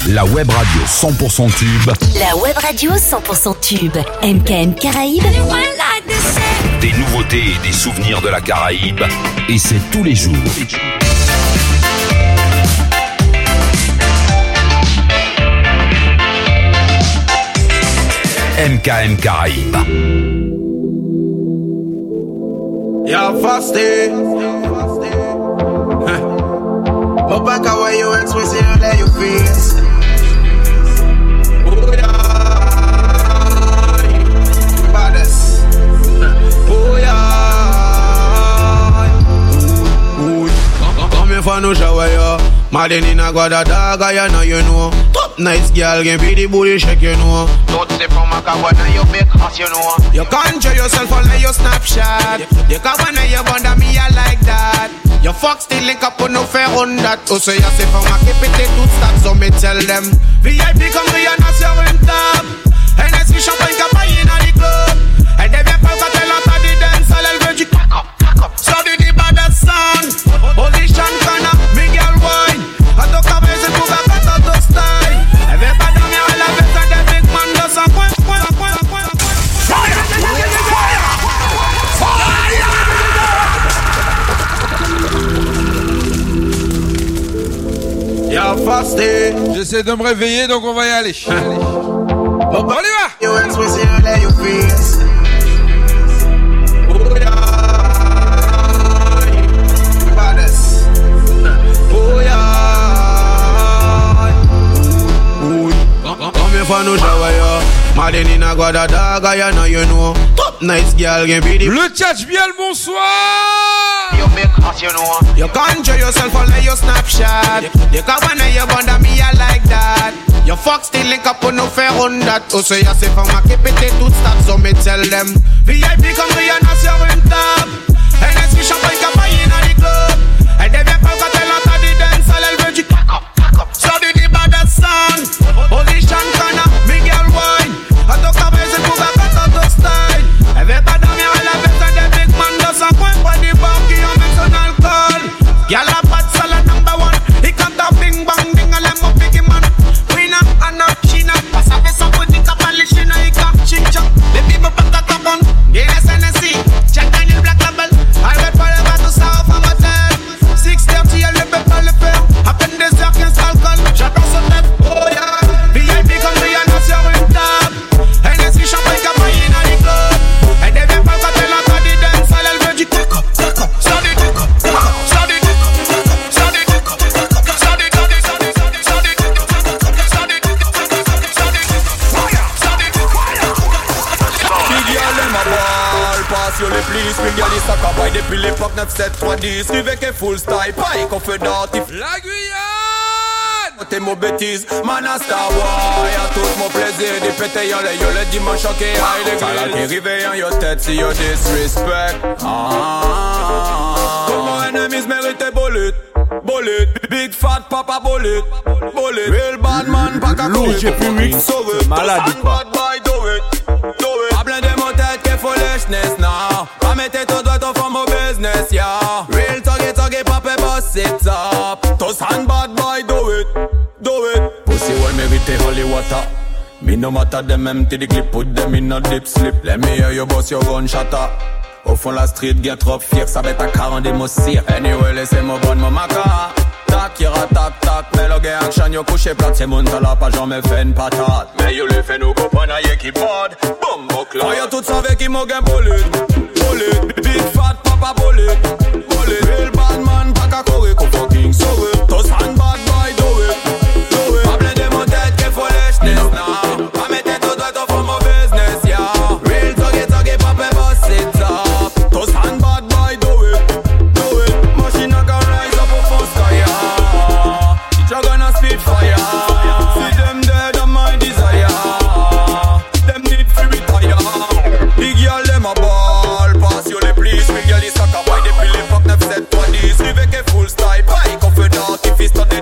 La web radio 100% tube. La web radio 100% tube. MKM Caraïbes. Des nouveautés et des souvenirs de la Caraïbe. Et c'est tous les jours. MKM Caraïbes. You're fasting. But back away you expressing you let you face. Oh yeah, baddest. Oh yeah. Come here for no shower yo. Madden in a god a dog I know you know. Top nice girl can be the booty shake you know. Don't say from a car when you make us you know. You conjure yourself on your Snapchat. You can when you bother me I like that. Your fuck still link up on no fair on that. Oh, so you say from a keep it tout stop, so me tell them VIP come here and ask your rent top. And I see champagne campagne in the club. And they viens pas quand elle entend des dance, elle veut du cock up. So do the baddest sound. Position corner, me girl wine. I don't come here pour la fête en tout style. Elle veut pas dormir à la fête, and the big man does un coin. J'essaie de me réveiller, donc on va y aller. On y va. Le tchatch bien le bonsoir. You conjure yourself on your Snapchat. You can when you bother me I like that. Your fuck still link up on no fair on that. Oh so you say from a keep it tout stop, so me tell them VIP come here and ask your rent top. And I see champagne campagne in the club. And they viens pas quand elle entend des dance, elle veut du cock up. So do the baddest sound. Position corner, me girl wine. I don't come here pour la fête en tout style. Elle veut pas dormir à la fête, and the big man does un coin. Pas des banques qui en mettent son alcool. Y'all a pas de salade number one. He come down bing bang ding a lemon biggie man. Winner and not China. Pass avec son body cap à l'échine. Il cap ching chong. Baby me pas ta cabane. Guinness Hennessy. Jack Daniel Black Label. I read for the battle sound from a hotel. 6:30 elle ne peut pas le faire. À peine des heures 15 alcool. J'attends son tête. Oh yeah. VIP comme Rihanna sur une table. Hennessy champagne campagne dans les clubs. Elle devient pas quand elle entend des dances. Elle veut du cock up. Ça du cock up. Sur les plis, spécialiste à cabaye depuis l'époque 9-7-3-10. Rivet qu'est full style, pareil qu'on fait d'artif. La Guyane! T'es mon bêtise, man a star boy. Y'a tout mon plaisir, des pétés y'a le dimanche choqué. High les grilles, t'es rivé en your tête si you disrespect. Comment enemies méritent bullet. Bullet, big fat papa bullet. Bullet, real bad man, pas qu'à courir. J'ai plus mix, sauvé. Malade bad boy, do it. Do it. Pas plein de mon tête qu'est foolishness now. Pas mettre ton doigt ton forme au business, yeah. Real tuggy, papa boss it up. Tous hand bad boy, do it. Do it. Pussy well mérite holy water. Me no matter them empty the clip, put them in a deep sleep. Let me hear you boss your gun shatter. Au fond la street, get trop fier, ça va être à 40 des mossir. Anyway, laissez-moi bonne mon maca. Tac, ira tac, tac, mais le gars action yo couché plate. C'est mon talent, pas jamais fait une patate. Mais yo le fait nous comprendre à qui bord. Bombo club. Oh yo tout savait qui m'a gain bullet. Bullet, big fat papa bullet. Bullet, real bad man, pas qu'à courir, qu'on fucking sauver. Tous hand bad boy, do it. Do it. Pas plein de mon tête, qu'est foolishness now. Pas mettre ton doigt, ton forme au business, yeah. Real tuggy, papa boss it up. Tous hand bad boy, do it. Do it. Machine a can rise up a full sky, yeah. It's a gonna speed fire. See them dead on my desire. Them need to retire. Big y'all them a ball. Pass you les please. Big y'all is a cabaye depuis l'époque 9-7-3-10. Rivet qu'est full style. Pareil qu'on fait d'artifice.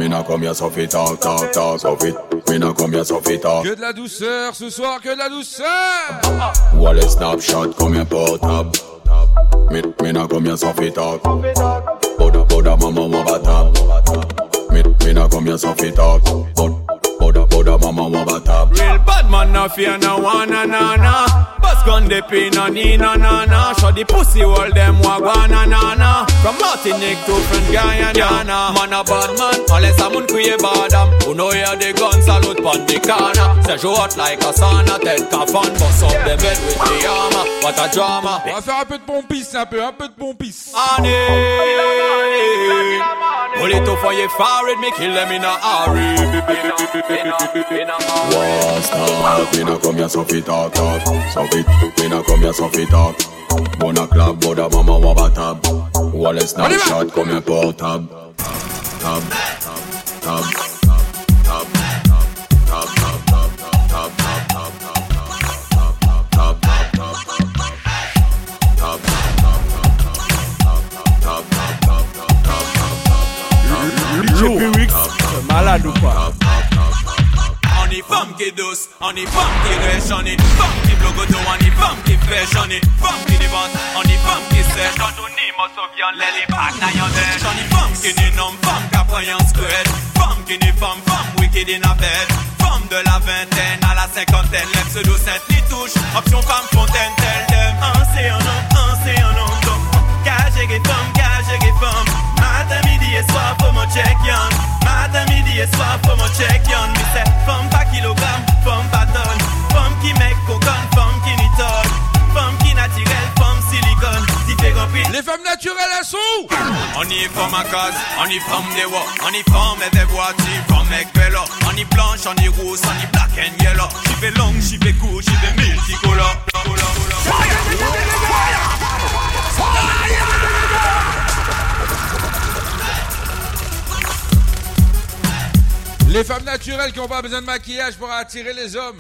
Me nah come here so fit talk, so fit. Me nah come here so fit talk. Que de la douceur ce soir, que de la douceur. Wallet snapshot, come here portable. Me nah come here so fit talk. Boda mama waba tab. Me nah come here so fit talk. Boda mama waba tab. Real bad man no fear no one na. Bust gun de pin no need na. Show the pussy all them wagwana na. From Martinique to French Guyana. Man a bad man, unless a moun kriye badam. Who know hear the gun salute pon the corner. Say show out like a sauna, Ted Kafan. Bust up the bed with the armor. What a drama. On va faire un peu de pompis, un peu de pompis. Honey, pull it up for your forehead, me kill them in a hurry. What's up? Me nah come here so fit talk, so fit. Me nah come here so fit talk. Bona club, boda mama waba tab. Wallet snapshot, come here portable. Tab. Malade ou pas? On est femme qui est douce, on est femme qui rêche, on est femme qui bloque auto, on est femme qui pêche, on est femme qui dévance, on est femme qui sèche. Quand on est mort, on vient les bacs n'a y'en dèche. On est femme qui n'est non femme qui apprend un squelette. Femme qui n'est femme wicked in a bed. Femme de la vingtaine à la cinquantaine, l'ex de Sainte-Ly touche, option femme fontaine, telle dem. C'est un homme, donc cagé et femme, matin, midi et soir, faut mon check yon. Matin, midi et soir, faut mon check yon. Mais c'est femme pas kilogramme, femme pas tonne. Femme qui mec coconne, femme qui n'y tonne. Femme qui naturelle, femme silicone. Différents prix. Les femmes naturelles, elles sont où? On y est femme à case, on y femme des voix. On y femme et des voitures, femme mec vélo. On y blanche, on y rousse, on y black and yellow. J'y vais long, j'y vais court, j'y vais multicolore. Les femmes naturelles qui n'ont pas besoin de maquillage pour attirer les hommes.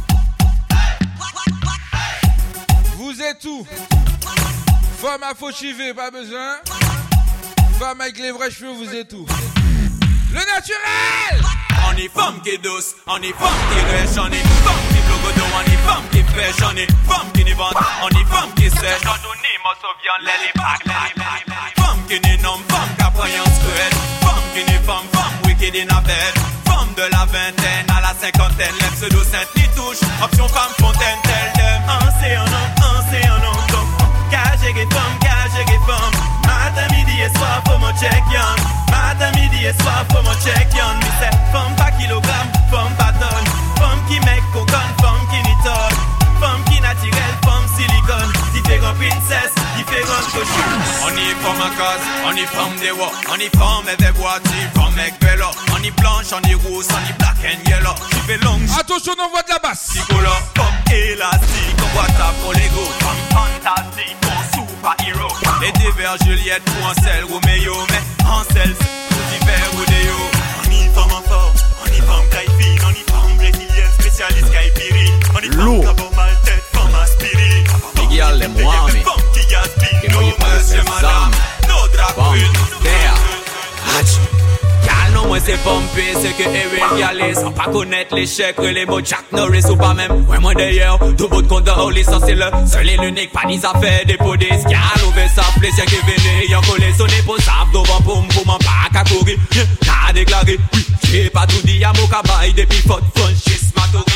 Vous êtes où? Femme à faux chivés, pas besoin. Femme avec les vrais cheveux, vous êtes où? Le naturel! On est femme qui est douce, on est femme qui rêche, on est femme qui bloque auto, on est femme qui pêche, on est femme qui n'est vente, on est femme qui sèche. Quand on est mort, on vient les bacs. Femme qui n'est non femme qui apprend un squelette. Femme qui n'est femme wicked in a bed. Femme de la vingtaine à la cinquantaine, l'ex de Sainte-Ly touche, option femme fontaine, telle dem. C'est un homme, donc cagé et femme. Matin, midi et soir, faut mon check yon. Matin, midi et soir, faut mon check yon. Mais c'est femme pas kilogramme, femme pas tonne. Femme qui mec coconne, femme qui n'y tonne. Femme qui naturelle, femme silicone. Différents princesses, différentes cochons. On y est femme à case, on y femme des voix. On y femme et des voitures, femme mec vélo. On y blanche, on y rousse, on y black and yellow. J'y vais long. Attention, on envoie de la basse. Psycholo, comme élastique, on voit ta pour l'ego. Femme fantastique, mon super-héros. Les divers Juliette pour Ansel, Roméo. Mais Ansel, c'est tout divers Rodeo. On y femme en forme, on y femme caïfine. On y femme brésilienne, spécialiste caïpirine. On y femme cabot mal tête, femme aspirine. Les gars, les moi, mais que moi, y'a pas de ces armes. Bon, there. Calme, moi c'est pompé, c'est que Erin Galley. Sans pas connaître l'échec, les mots Jack Norris ou pas même. Ouais, moi d'ailleurs, tout bout de compte de Holly, ça c'est le seul et l'unique, pas ni affaires des pots d'escal. Ouvert sa plaisir qui venait, y'en collé son épaule, save devant poum poum, en pas qu'à courir. N'a déclaré, oui, j'ai pas tout dit, y'a mon cabaye, depuis faute, franchise, ma tour,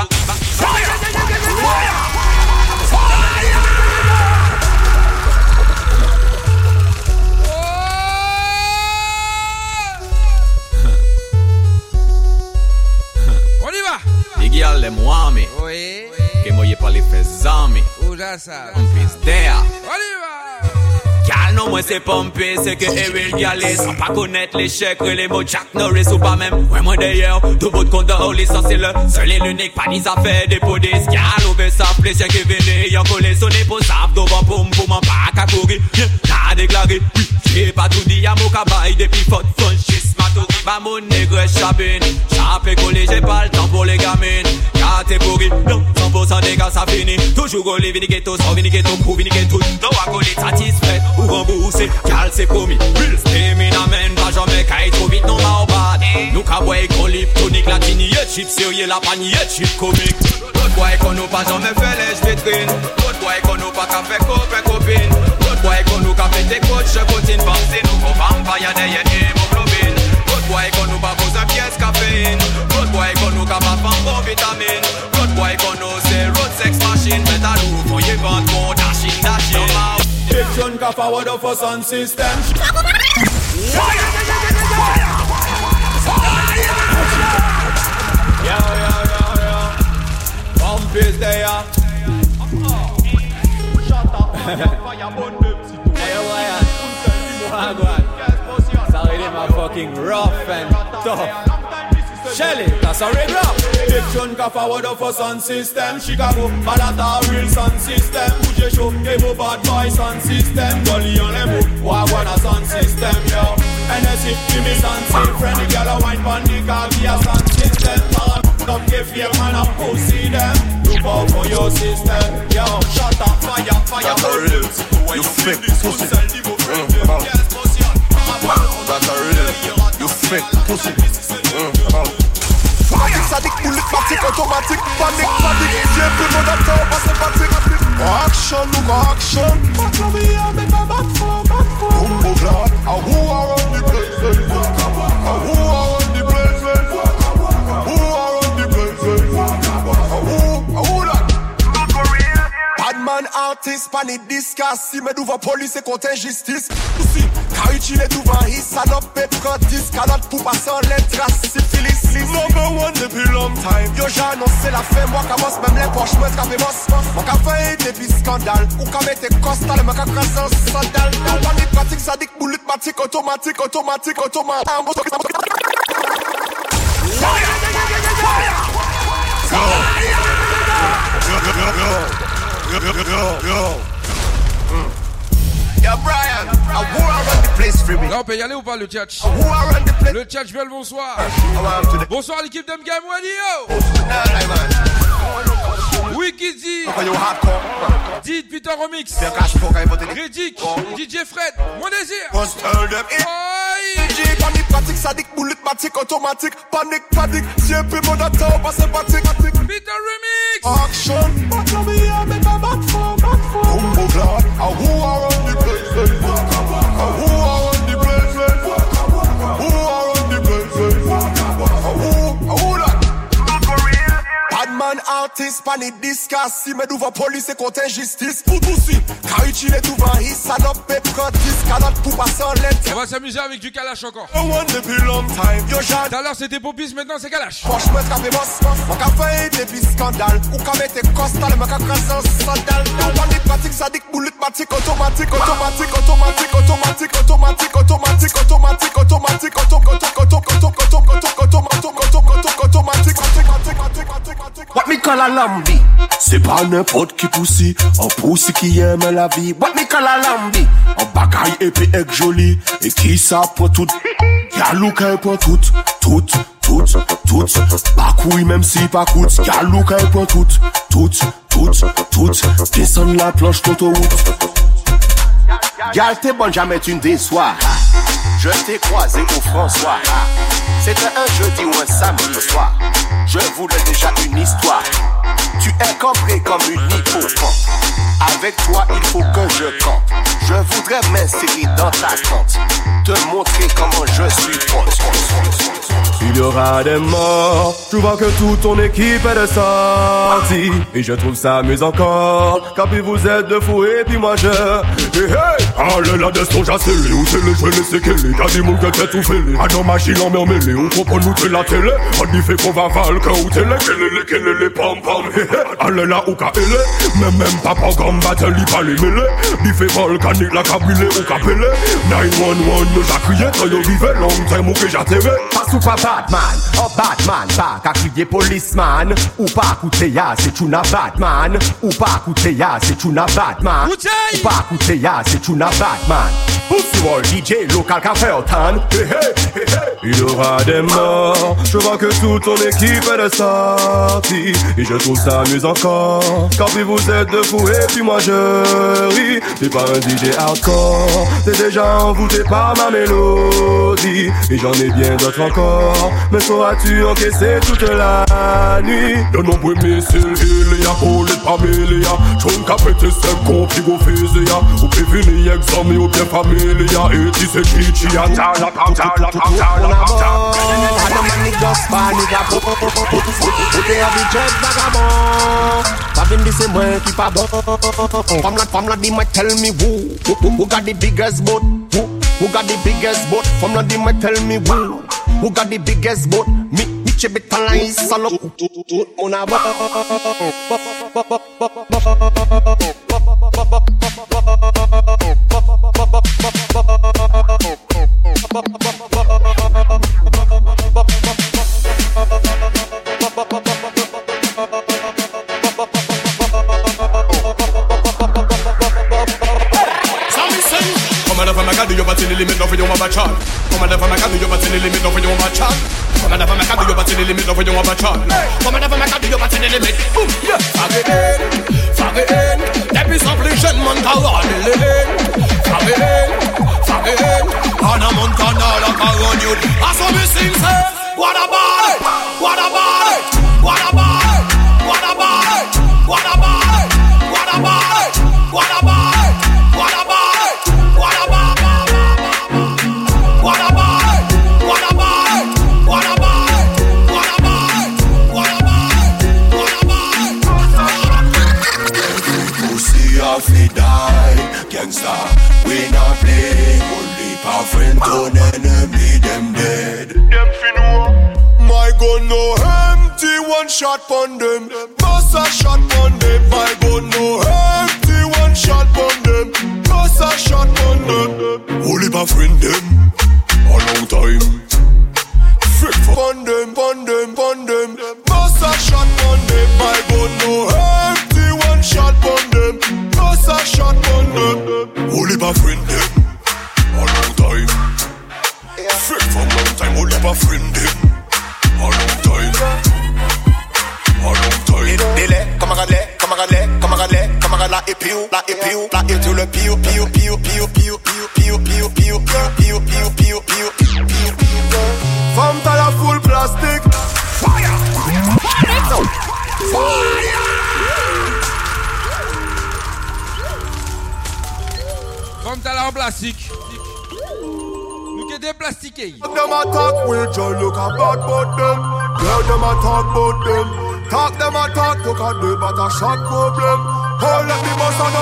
On y va. Les gars, les moi, mais Oui. que moi, y'a pas les faits amis. Où là ça? On pisse there. On y va. Calme, moi c'est pompé, c'est que Erin Galley. Sans pas connaître l'échec, les mots Jack Norris ou pas même. Ouais, moi d'ailleurs, tout bout de compte de Holly, ça c'est le seul et l'unique, pas ni affaires des pots d'escal. Ouvert sa plaisir qui venait, y'en collé son épaule, save devant poum poum, en pas qu'à courir. N'a déclaré, oui, j'ai pas tout dit, y'a mon cabaye, depuis faute, franchise, ma tour, bah. à mon nègre chabine. Chape collé, j'ai pas le temps pour les gamines. Catégorie, non, 100% des gars ça finit. Toujours collé, viniquetos, sans viniquetos, pour viniquetos. Non, à coller, satisfait ou remboursé. Cal c'est promis, Bill Stemin amène. Pas jamais qu'à trop vite, non, ma bad. Nous qu'à boire qu'on lip tonique, la tini, chip sérieux, la panier, chip comique. L'autre boy qu'on nous pas jamais fait les vitrines. L'autre boy qu'on nous pas qu'à faire copain copine. L'autre boy qu'on nous qu'à faire des coachs, je continue par c'est nous qu'on va m'payer des hémoglobine. L'autre boy qu'on nous pas besoin de pièces caféine. L'autre boy qu'on nous qu'à pas faire bon vitamine. L'autre boy qu'on nous c'est road sex machine. Mais à nous, faut y vendre mon dashing dashing. Fiction qu'a forward of a sound system. Pump is there. Shut up. Hey, Ryan. Sorry, they my fucking rough and tough. Shelly, that's a regular. Fiction qu'a forward of a sound system. Chicago, Malata, real sound system. Bouge chaud, Emo bad boy sound system. Dolly on les mots, Wagwan a sound system, yo. NSC, give me sound system. Friendly girl a wine pon the car via sound system. Don't give fear, man, I pussy them. Look out for your system, yo. Shut up, fire, fire, bullets. You fake pussy. That's a real. You fake pussy. Fanatique, sadique, bullet, matic, automatique. Panique, panique, j'ai plus mon acteur, pas sympathique. Action, nous action. Fuck la vie, I make a back for. Bumbo glad, who are on the place? Who are on the place? Who are on the place? Who that? Badman artist, panic discuss. Si me devant police et contre injustice. Aussi, car utile devant his salope, prétis, calotte pour passer en lettres, syphilis. Number one depuis long time. Yo j'ai annoncé la fin, moi commence même les poches, moi qu'à boss. Moi qu'à faire depuis scandale. Ou qu'à mettre costal, moi qu'à crasser en sandal. Yo panique, pratique, sadique, bullet, matic, automatique. Yo Brian, who are on the place for me? Là on peut y aller ou pas le tchatch? Le tchatch veut le bonsoir. Bonsoir l'équipe d'Mgam Wadio. Wikidzi, Did Peter Remix, Redick, DJ Fred, mon désir. Panique, pratique, sadique, bullet, matic, automatique. Panique, si un peu mon acteur, pas sympathique. Peter Remix. Action, but let me have me back for. Bumbo glad, who are on the place? Who are on the place? Who are on the place? Who that? Badman artist, panic discuss. Si me devant police et contre injustice. Pour tout si, car utile devant his salope, prétis, calotte pour passer en lettres. On va s'amuser avec du Kalash encore. Depuis long time, yo j'ai. Tout à l'heure c'était Popis, maintenant c'est Kalash. Franchement, café boss, mon café depuis scandale. Ou qu'à mettre costal, mon café crasser en sandal. Panique, pratique, sadique, bullet, matic, automatique. What me call a lambi? C'est pas n'importe qui poussi, un poussi qui aime la vie. What me call a lambi? Un bagaille épais et joli, et qui ça pour tout? Y'a qu'elle pour tout. Pas couille même si pas coûte. Y'a qu'elle pour tout. Descends la planche d'autoroute. Gal t'es bonne, jamais tu ne déçois. Je t'ai croisé au François. C'était un jeudi ou un samedi soir. Je voulais déjà une histoire. Tu es cambré comme une hippocampe. Avec toi il faut que je campe. Je voudrais m'insérer dans ta tente. Te montrer comment je suis pote. Il y aura des morts. Je vois que toute ton équipe est de sortie. Et je trouve ça amusant encore. Car puis vous êtes de fous et puis moi je. Hey, allez la destin j'accélère. Où c'est les jeunes et c'est qu'elle est. Y'a des moules que t'es tout fêlé. À nos machines en mêlée. On comprend nous de la télé. On y fait qu'on va valque ou télé. Quelle les pom pom. Allez là ou ka elle. Même pas programme battle il pas les mêlés. Il fait volcanique la cabulé ou capelé. 911 nous a crié. Quand yo vivait long time ou que j'atterré. Pas ou pas Batman, oh Batman, pas qu'à crier policeman. Ou pas coûter ya, c'est une Batman. Ou pas coûter ya, c'est une Batman. Ou pas coûter ya, c'est une Batman. Pussy Wall, DJ local café au tan. Il y aura des morts. Je vois que toute ton équipe est sortie. Et je trouve ça amusant encore. Quand puis vous êtes de fous et puis moi je ris. T'es pas un DJ hardcore. T'es déjà envoûté par ma mélodie. Et j'en ai bien d'autres encore. Mais sauras-tu encaisser toute la nuit? De nombreux missiles, il y a Paul et Pamélia. J'en capété 5 compris go fizia. Ou prévenir examen ou bien familia. Et tu sais qui t'y a la Femme la dit might tell me who got the biggest boat? Who got the biggest boat? Femme la dit might tell me who got the biggest boat? Me chebet talent is salo tout mon aba. You but in the limit of your mama chat. Come on, never make a do you but in the limit of your mama chat. Come on, never make a do you but in the limit of your mama chat. Come on, never make a do you but in the limit. Boom, yeah. Fagin. Depuis s'impliquer mon caroline. Fagin. Hannah Montana la caroline youth. I saw me sing say, what about it? What about it? What about it? What about it? What about it? What about it? What about it? What about it? Fi die, gangsta, we not play. Only our friend on enemy, them dead. Them fi know. My gun no empty, one shot pon them. Bust a shot pon them. My gun no empty, one shot pon them. Bust a shot pon them. Only our friend them, a long time. Frick pon them. Bust a shot pon them. My gun no empty, one shot pon them. Bust a shot pon them. Only my friend them, a long time. Frick from long time. Only my friend them, a long time. Délai, camarade là et piou, tout le piou. Femme t'as la full plastique. Fire. Femme t'as la en plastique. Nous qui des plastiqués. Them attack with you, look about them. Girl them attack about them. Talk them attack, look at them, but a shot problem. Oh let me bust on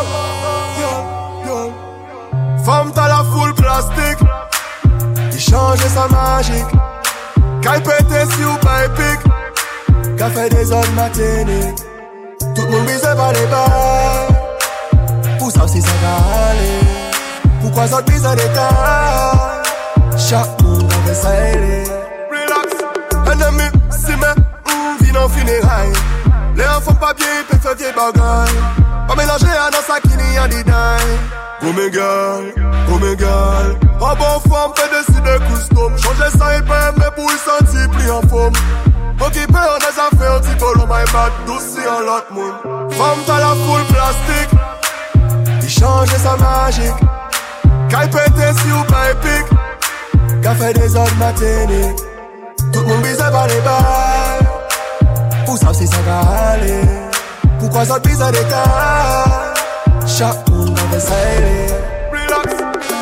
them. Femme t'as la full plastique. Il change sa magique. Qu'elle pète si ou pas épique. Qu'elle fait des autres matinées. Tout le monde bise par les bars. Pour ça aussi ça va aller. Pourquoi ça bise à l'état? Chaque monde avait ça aller. Relax, ennemi, si mais vin en funérailles. Les enfants pas bien, ils peuvent faire vieille bagaille. Pas mélanger à dans sa kini en dédaille. Oh my girl, en bon forme, fait décider custom. Changer ça, il peut aimer pour y sentir plus en forme. Occupé en des affaires, petit colon, my bad, douce en l'autre monde. Femme, t'as la full plastique. Il change sa magique. Qu'elle pète si ou pas épique. Qu'elle fait des autres matinées. Tout le monde bise par les balles. Pour ça, si ça va aller. Pourquoi ça bise à l'état? Chaque monde avait ça aller. Relax.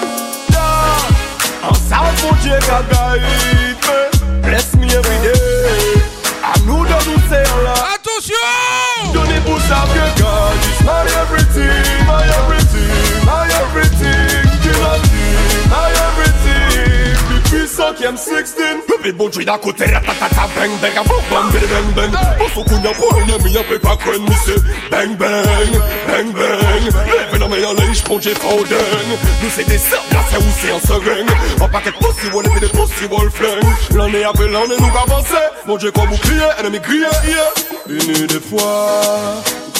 Ensemble, mon Dieu, guide. Bless me every day. À nous de nous serrer là. Attention! Donnez-vous ça, que God is my everything, my everything, my everything. My everything. Plus puissant qui aime 16. Bébé bon Dieu d'un côté, ratatata, bang bang, bang bang bang bang. Pour son coup y'a pour un ami, y'a pas qu'un monsieur. Bang bang, bang bang. Lève la meilleure lèche, pour Jeff Foden. Nous c'est des sœurs, là c'est où c'est un seringue. En paquet possible, on est des possibles flingues. L'année après l'année, nous avancer. Mon Dieu comme bouclier, ennemi crié, yeah. Une des fois,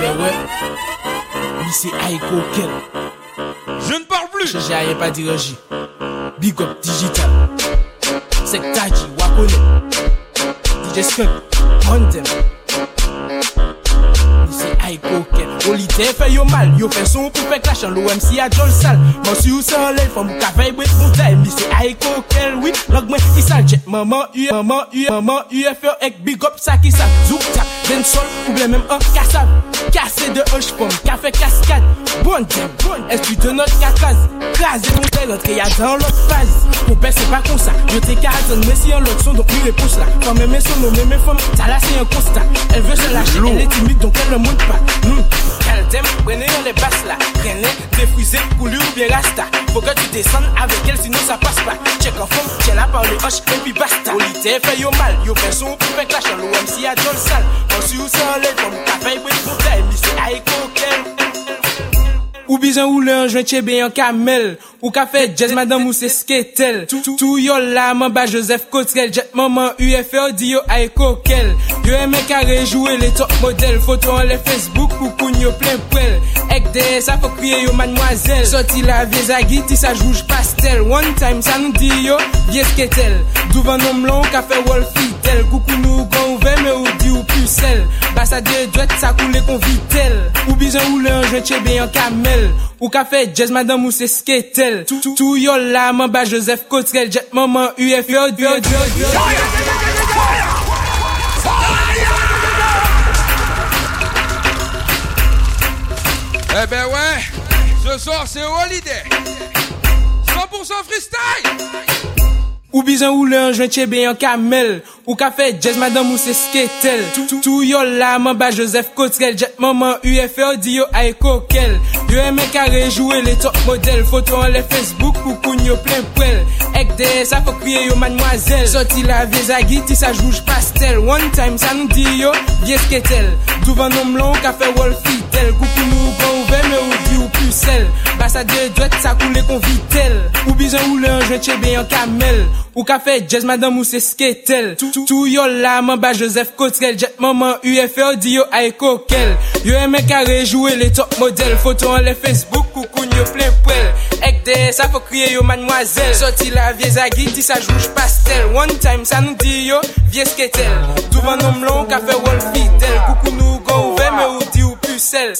Ben ouais, lui c'est Aiko Kel. Je ne parle plus. J'ai rien pas dire J. Big up digital. C'est Taji, Wakone. DJ Skunk, Mondem. C'est Aiko Kel. Olité fait yo mal, yo fait son pour faire clash en l'OMC à John Sal. Moi si ou sans l'aile, faut m'ka veille bret mon time. C'est Aiko Kel, oui. Log moi, il sale jet. Maman UFO ek big up ça qui ça. Zouk tap, den sol, ou bien même un cassab. Cassé de hoche pomme, café cascade. Bon est-ce que tu te notes qu'à case? Crasé ton tel, l'autre y'a dans l'autre phase. Mon père c'est pas comme ça, je t'ai qu'à attendre, mais si en l'autre son, donc lui réponse là. Quand même son nom, même femme, ça là c'est un constat. Elle veut se lâcher, elle est timide, donc elle ne monte pas. Elle t'aime, prenez les basses là. Prenez, défrisé, coulu ou bien rasta. Faut que tu descendes avec elle, sinon ça passe pas. Check en forme, tiens la par le hoche, et puis basta. Olité fait yo mal, yo fait son pour faire clash en l'OMC à John Sal. Ensuite, où ça enlève, comme café, oui, pour taille. C'est Aiko Kel. Ou bizan ou le joint chébé en camel. Ou café jazz madame ou c'est sketel. Tout yo la mamba Joseph Cotrel. Jet maman UFO di yo Aiko Kel. Yo aime carré jouer les top modèles. Photo en les Facebook ou koun yo plein poil. Ek de ça faut crier yo mademoiselle. Sorti la vie zagui ti sa rouge pastel. One time ça nous dit yo vieux sketel. Douvan nom long café wall fidèle. Coucou nous gon ouvert mais ou di ou pucelle. Bassa de douette ça coule qu'on vitel. Ou bizan ou le joint chébé en camel. Ou café jazz madame ou c'est sketel. Tout yo la mamba Joseph Cotrel. Jet maman UFO Eh ben ouais, ce soir c'est Holiday 100% freestyle. Ou bizan ou le joint chébé en camel. Ou café jazz madame ou c'est sketel. Tout yo la mamba Joseph Cotrel. Jet maman UFO di yo Aiko Kel. Yo aime carré jouer les top modèles. Photo en les Facebook ou koun yo plein poil. Ek de ça faut crier yo mademoiselle. Sorti la vie zagui ti sa rouge pastel. One time ça nous dit yo vieux sketel. Douvan nom long café wall fidèle. Coucou nous gon ouvert mais ou di ou pucelle. Bassa de douette ça coule qu'on vitel. Ou bizan ou le joint chébé en camel. Ou café jazz madame ou c'est sketel. Tout yo la mamba Joseph Cotrel. Jet maman UFO di yo Aiko Kel. Yo aime carré jouer les top modèles. Photo en les Facebook ou koun yo plein poil. Ek de ça faut crier yo mademoiselle. Sorti la vie zagui ti sa rouge pastel. One time ça nous dit yo vieux sketel. Douvan nom long café wall fidèle. Coucou nous gon ouvert mais ou di ou pucelle.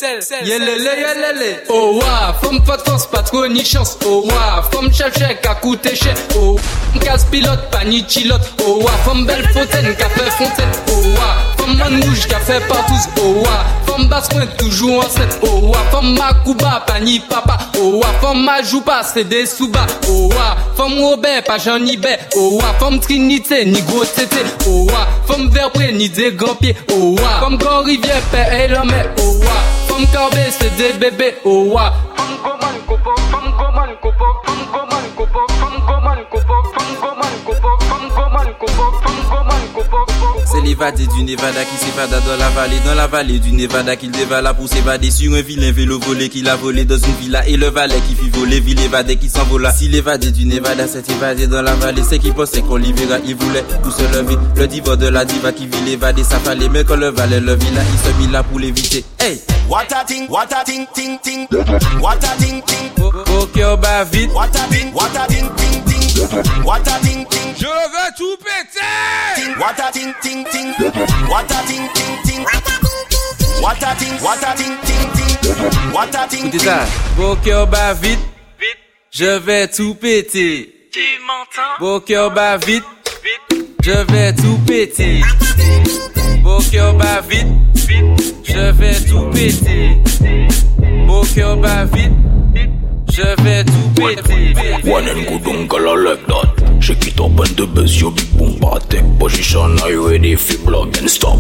Yelele. Oh wa, femme pas de force, pas trop ni chance. Oh wa, femme chèque à coûter cher. Oh, casse pilote, pas ni chilote. Oh wa, femme belle fontaine, café fontaine. Oh wa, femme man rouge, café partout. Oh wa, femme basse pointe, toujours en 7. Oh wa, femme Makuba, pas ni papa. Oh wa, femme Majouba, c'est des sous-bas. Oh wa, femme Robert, pas Jean ni Bé. Oh wa, femme Trinité, ni gros tété. Oh wa, femme Verpré, ni des grands pieds. Oh wa, femme Grand Rivière, père et l'homme. Oh wa, femme Corbet, c'est des bébés. Oh wa, femme Goman, Kopo, femme Goman, Kopo, femme Goman, Kopo, femme Goman, Kopo, femme Goman, Kopo, femme Goman, Kopo, femme Goman, Kopo. C'est l'évadé du Nevada qui s'évada dans la vallée du Nevada qu'il dévala pour s'évader sur un vilain vélo volé qu'il a volé dans une villa et le valet qui fit voler, ville évadé qui s'envola. Si l'évadé du Nevada s'est évadé dans la vallée, c'est qu'il pensait qu'on l'y verra, il voulait tout se lever. Le divorce de la diva qui vit l'évadé, ça fallait, mais quand le valet le vit là, il se mit là pour l'éviter. Hey! What a ting, ting, ting. What a ting, ting. Ok, bah vite. What a ting, ting, ting. What a ting, ting. Je veux tout péter. What a ting, ting, ting. What a ting, ting, ting. What a ting, ting, ting. What a ting, ting. Écoutez ça. Ok, bah vite. Je vais tout péter. Tu m'entends? Beau cœur bat vite. Je vais tout péter. Beau cœur bat vite. Je vais tout péter. Beau cœur bat vite. Je vais tout péter. One and good uncle, I like that. Shake it up and the bass, you big boom take position. Are you ready for block and stop?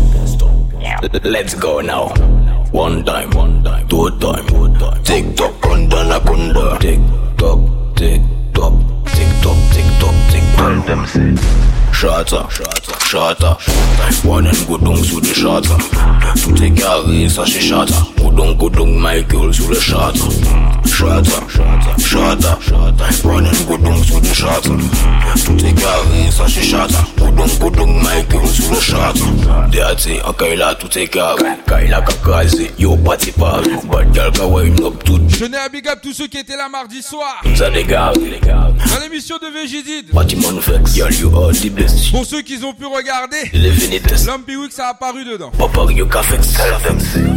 Let's go now. One time, two time. Tick tock, anaconda. Tick tock, tick tock, tick tock, tick tock, tick tock. Them say. Shatter. One and go down sous le shatter. Tout est carré, ça c'est shatter. Go down Michael sous le shatter. Chata, running good down sous le chata. Tout est carré, ça c'est chata. Good down, Michael sous le chata. Déaté, en Kaila, tout est carré. Kaila kakazé, yo party pas. Bad girl ka wine up tout. Je tenais à big up tous ceux qui étaient là mardi soir. Ça dégage. Dans l'émission de VGDid. Bâtiment vex, girl you are the best. Pour ceux qui ont pu regarder, les Venites. Lumpy Week ça a apparu dedans. Papa you café, tell them.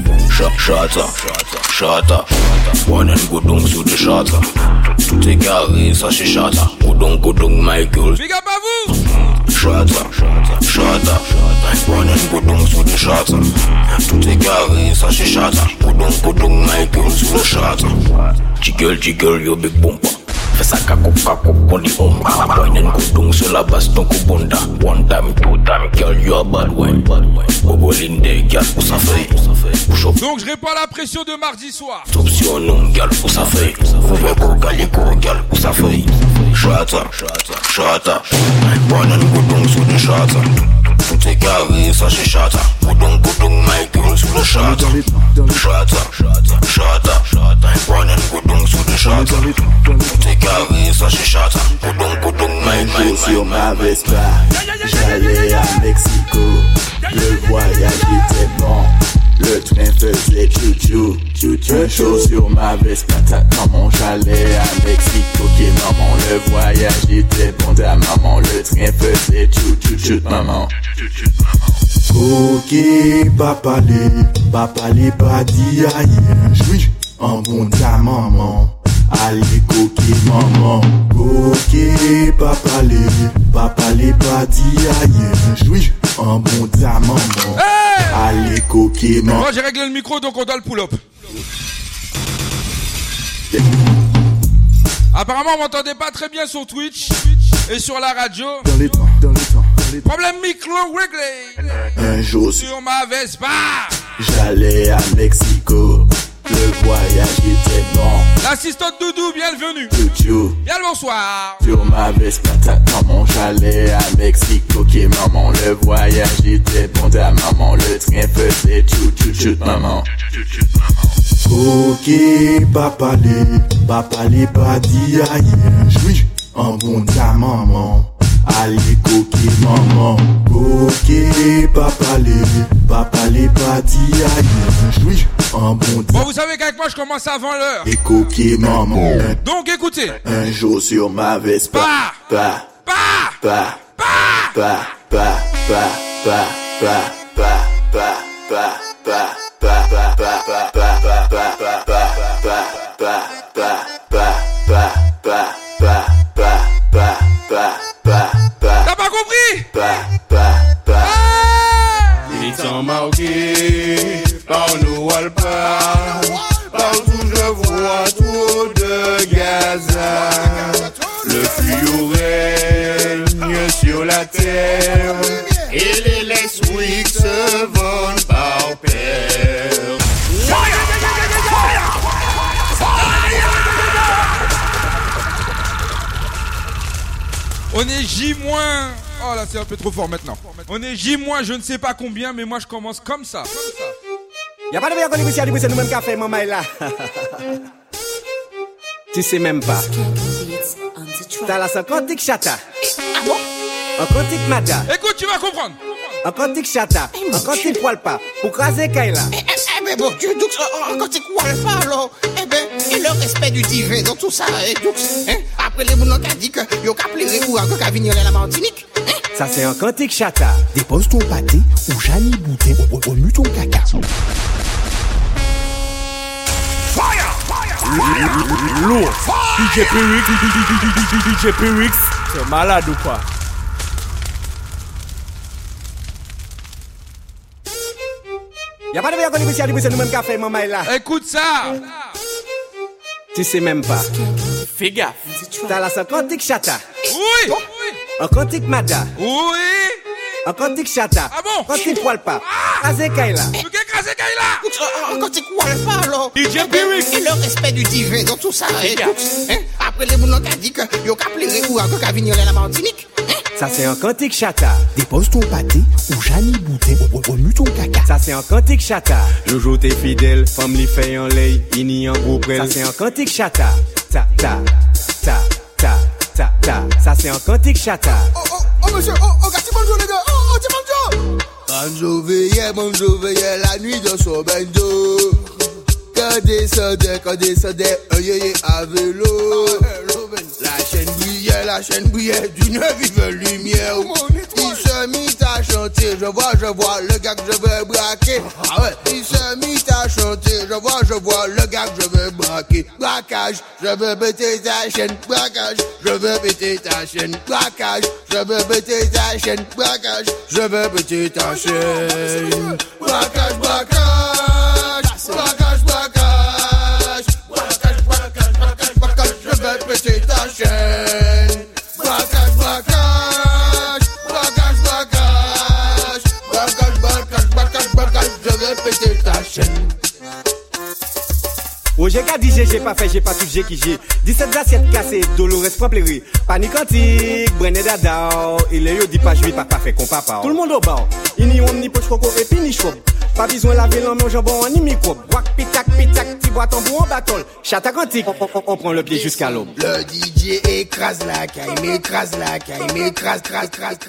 Chata, running good down sous le chata. Tout est carré, ça c'est chata. Good down, Michael. Big up à vous. Chata, running good down sous le chata. Tout est carré, ça c'est chata. Good down, Michael sous le chata. Jiggle, yo big bumper. Fais ça kakop, on dit omba. Running good down sur la base, ton kubonda. One time, two time, girl, you a bad wine. Bobo Linde, girl, où ça fait? Donc je réponds à la pression de mardi soir. Top sur non, girl, où ça fait? Bobo Calico, girl, où ça fait? Chata, running good down sur le chata. Tout est carré, ça c'est chata. Good down, Michael sur le chata. Chata, running good down sur le chata. Tout est carré, ça c'est chata. Good down, Michael sur ma Vespa. J'allais à Mexico. Le voyage était bon. Le train faisait chou-chou. Un show sur ma Vespa. Maman, j'allais à Mexico. Ok, maman, le voyage était bon. Ta maman, le train faisait chou-chou. Maman. Ok, papa les pas dit aïe. J'suis en bon ta maman. Allez coquille maman. Ok, papa les pas dit aïe. J'suis en bon ta maman. Allez coquille maman. Moi j'ai réglé le micro donc on doit le pull-up. Apparemment on m'entendait pas très bien sur Twitch et sur la radio. Dans les temps. Problème micro réglé. Un jour sur ma Vespa. J'allais à Mexico. Le voyage était bon. L'assistante Doudou, bienvenue. Bien le bonsoir. Sur ma Vespa, maman, j'allais à Mexico. Ok, maman, le voyage était bon. Ta maman, le train faisait chou-chou, maman. Ok, papa les pas dit aïe. J'suis en bon ta maman. Allez coquille maman. Ok, papa les pas dit aïe. J'suis en bon ta. Bon, vous savez qu'avec moi je commence avant l'heure. Et coquille maman. Donc écoutez. Un jour sur ma Vespa. T'as pas compris? Ils sont marqués par nous alpins. Partout je vois trop de Gaza. Le fluo règne sur la terre. Et les Lex Weeks se vendent par paire. On est J-. Oh là c'est un peu trop fort maintenant. On est J- je ne sais pas combien, mais moi je commence comme ça. Y'a pas de meilleur contribution à nous-mêmes qu'a fait maman là. Tu sais même pas. T'as la 50 chata. Ah bon? Un cantique mada. Écoute, tu vas comprendre. Un cantique chata. Un cantique poil pas. Pour craser Kaila. Mais bon Dieu, donc un cantique poil pas alors. Eh ben, et le respect du divin, donc tout ça. Donc, hein, après les mounons qui dit que y'a qu'à pleurer ou encore qu'à venir à la Martinique. Ça c'est un cantique chata. Dépose ton pâté ou Jani Boutin remue ton caca. Lourd. DJ Pyrix, c'est malade ou quoi? Y'a pas de meilleur contribution à nous-mêmes qu'a fait maman là. Écoute ça. Tu sais même pas. Fais gaffe. T'as la 50 chata. Oui. Un cantique mada. Oui. Un cantique chata. Ah bon? Cantique poil pas. Craser Kaila. Tu qu'est craser Kaila? Un cantique poil pas alors. DJ Pyrix. Et le respect du divin, donc tout ça. Hein, après les mounons qui dit que y'a qu'à pleurer ou encore qu'à venir à la Martinique. Ça c'est un cantique chata. Dépose ton pâté ou Jani boutin. Remue ton caca. Ça c'est un cantique chata. Jojo t'es fidèle, femme li fait en lait, ini en gros près. Ça c'est un cantique chata. Ta ta ta ta ta ta. Ça c'est un cantique chata. Oh monsieur, gâti bonjour les gars. Oh bonjour. Bonjour veillait la nuit dans son bendo. Quand descendait, un yéyé à vélo. La chaîne brillait d'une vive lumière. Il se mit à chanter, je vois le gars que je vais braquer. Ah ouais, il se mit à chanter, je vois le gars que je vais braquer. Braquage, je veux péter ta chaîne. Braquage, je veux péter ta chaîne. Braquage, je veux péter ta chaîne. Braquage, je veux péter ta chaîne. Braquage, braquage, braquage, braquage, braquage, braquage, je vais péter ta chaîne. Braquage, braquage, braquage, braquage, braquage, braquage, braquage, je vais péter ta chaîne. Oh j'ai qu'à dire j'ai pas fait, j'ai pas tout j'ai qui j'ai 17 assiettes cassées, Dolores pas pleurer. Panique antique, Brené Dada. Il est yo dit pas jouer, pas fait qu'on papa. Tout le monde au bar, il n'y a ni poche coco et puis ni chouab. Pas besoin laver l'homme au jambon ni microbe. Wak pitac pitac, ti bois ton bout en battle. Chata quantique, on prend le pied jusqu'à l'aube. Le DJ écrase la caille, m'écrase la caille, m'écrase, crase.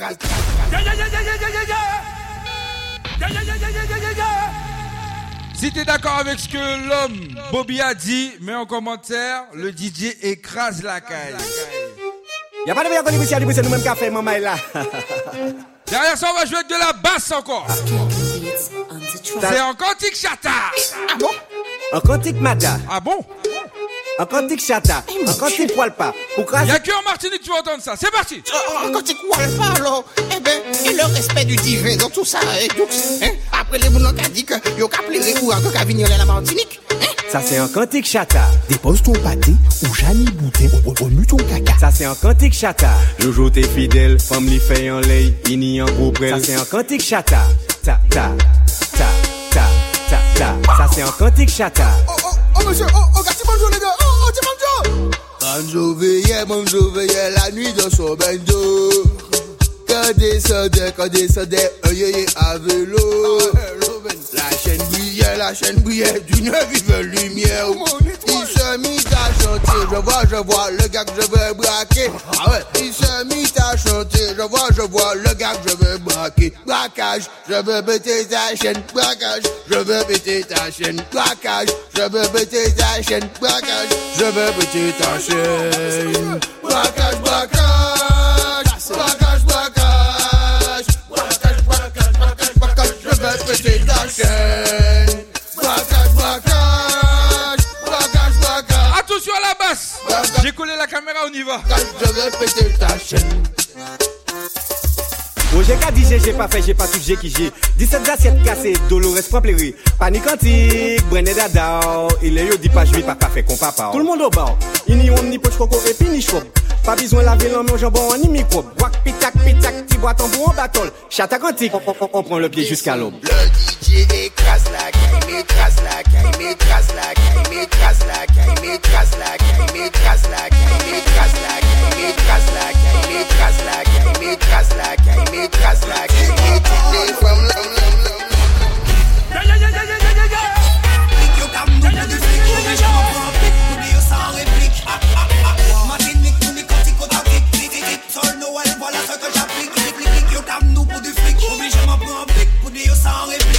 Si t'es d'accord avec ce que l'homme Bobby a dit, mets en commentaire, le DJ écrase la caille. Y'a pas de meilleur contribution, c'est nous-mêmes qui a fait, maman est là. Derrière ça, on va jouer de la basse encore. C'est un cantique chata. Ah bon? Un cantique mada. Ah bon? Un cantique chata. Un cantique walpa. Y'a que en Martinique tu vas entendre ça. C'est parti. Un cantique walpa alors. Eh ben, et le respect du divin dans tout ça. Après les mounons qui dit que y'a qu'à pleurer ou encore qu'à venir à la Martinique. Ça c'est un cantique chata. Dépose ton pâté ou Jani boutin. Remue ton caca. Ça c'est un cantique chata. Jojo t'es fidèle, femme li fait en lait, ini en gros près. Ça c'est un cantique chata. Ta ta ta ta ta ta. Ça c'est un cantique chata. Oh monsieur, gâti bonjour les gars. Bonjour veillait la nuit dans son bendo. Quand descendait, un yéyé à vélo. La chaîne brillait d'une vive lumière. Il se mit à chanter, je vois le gars que je vais braquer. Ah ouais, il se mit à chanter, je vois le gars que je vais braquer. Braquage, je veux péter ta chaîne. Braquage, je veux péter ta chaîne. Braquage, je veux péter ta chaîne. Braquage, je veux péter ta chaîne. Braquage, braquage, braquage, braquage, braquage, braquage, braquage, je veux péter ta chaîne. Braquage, braquage, braquage, braquage. Attention à la basse. J'ai collé la caméra, on y va. Je vais péter ta chaîne. Oh j'ai qu'à dire j'ai pas fait, j'ai pas tout j'ai qui j'ai 17 assiettes cassées, Dolores pas pleurer. Panique antique, Brené Dada. Il est yo dit pas jouer, pas fait qu'on papa. Tout le monde au bar, il n'y a ni poche coco et puis ni chouab. Pas besoin laver l'homme au jambon ni microbe. Wak pitac pitac, ti bois ton bout en battle. Chata quantique, on prend le pied jusqu'à l'aube. Le DJ écrase la caille, m'écrase la caille, m'écrase la caille, m'écrase la caille, m'écrase la caille, m'écrase la caille, m'écrase la caille, m'écrase la caille, m'écrase la caille, m'écrase la caille, m'écrase la caille, les femmes là. Voilà ce que j'applique, yo dame nous pour du fric, obligé m'en prendre un pic pour dire sans réplique.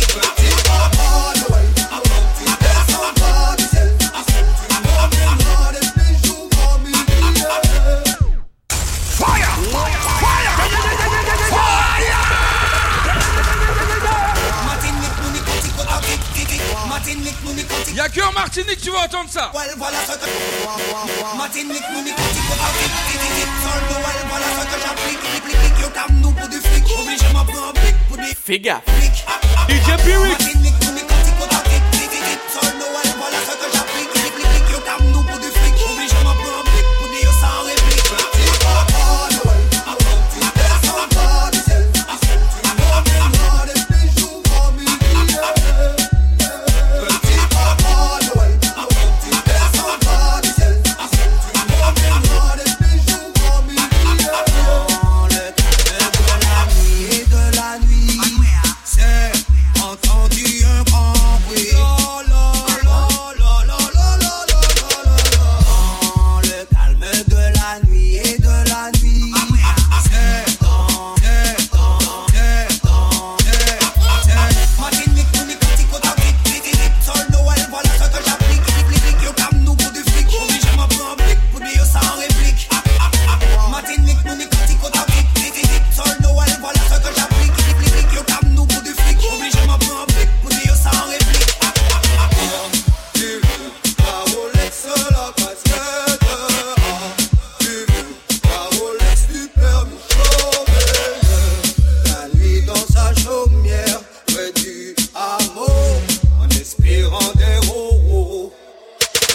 Y'a que en Martinique tu vas entendre ça. Voilà ce que Martinique, voilà ce que j'applique, yo dame nous pour du fric, obligé m'en prendre un pic pour dire. Fais gaffe. DJ Pirik. Voilà ce que j'applique, yo dame nous pour du fric, obligé m'en prendre un pic pour dire sans réplique.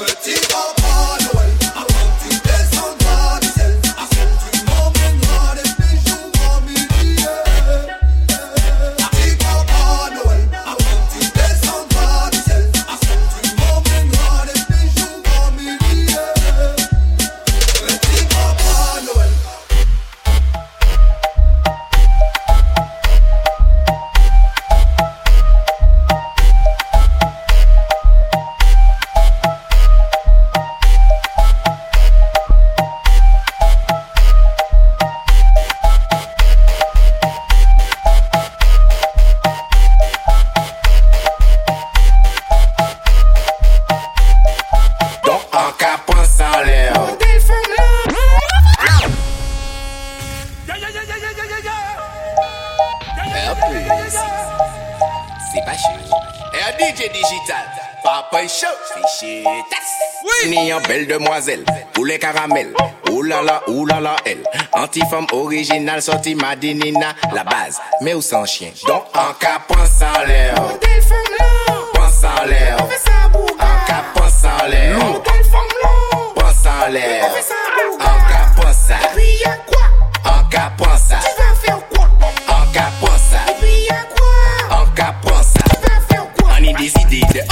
C'est pas chaud. Et un DJ digital, papa chaud, c'est oui. Ni en belle demoiselle, pour les caramels. Oulala, elle. Anti-femme originale, sortie Madinina, la base, mais où sans chien. Donc en cas, pense en l'air. Pense en l'air. En cas, pense en l'air. Pense en l'air. En cas, pense ça. Et puis y'a quoi? En cas, pense ça. Tu vas faire quoi? En cas, pense ça. Et puis y'a quoi? En cas, pense ça. Tu vas faire quoi? On est décidé de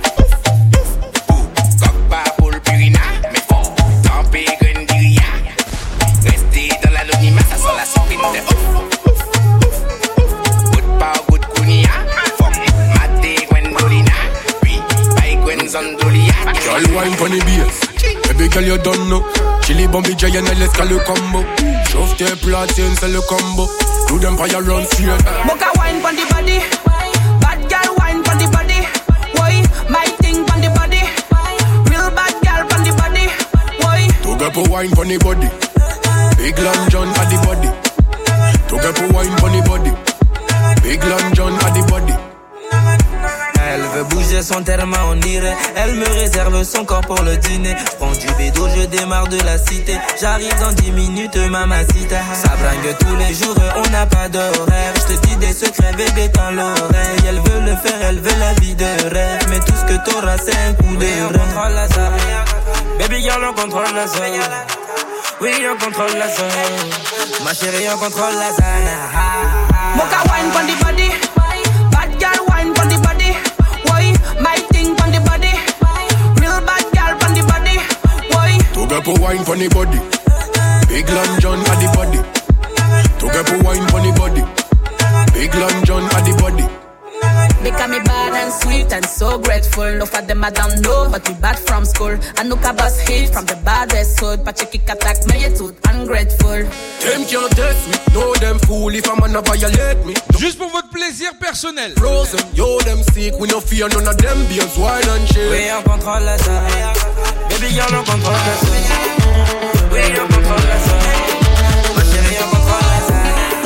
Girl wine pon the bass, baby girl you don't know. Chili bombi giant and let's call le combo. Chauffe tes platines c'est le combo. Do them fire run straight. Boca wine pon the body, bad girl wine pon the body. Why my thing pon the body, real bad girl pon the body. Why? To get for wine pon the body, big long John at the body. To get for wine pon the body, big long John at the body. Elle veut bouger son terme, on dirait. Elle me réserve son corps pour le dîner. J'prends du bédo, je démarre de la cité. J'arrive dans 10 minutes, mamacita. Ça bringue tous les jours, on n'a pas d'horaire. J'te dis des secrets, bébé, dans l'oreille. Elle veut le faire, elle veut la vie de rêve. Mais tout ce que t'auras, c'est un coup de rein. On contrôle la zone. Baby girl, on contrôle la zone. Oui, on contrôle la zone. Ma chérie, on contrôle la zone. Boca wine pon the body, bad girl wine pon the body. My thing pon the body, real bad girl pon the body. Why? To get for wine pon the body, big long John at the body. To get for wine pon the body, big long John at the body. Because me bad and sweet and so grateful. No for them I don't know, but we bad from school. I know bus hit from the baddest hood. But you kick attack me, you too ungrateful. Them can't test me, know them fool if a man a violate me. Juste pour votre plaisir personnel. Frozen, yo them sick, we no fear none of them beers, wine and shit. Oui, on contrôle la zone. Baby girl, on contrôle la zone. Oui, on contrôle la zone. Ma chérie, on contrôle la zone.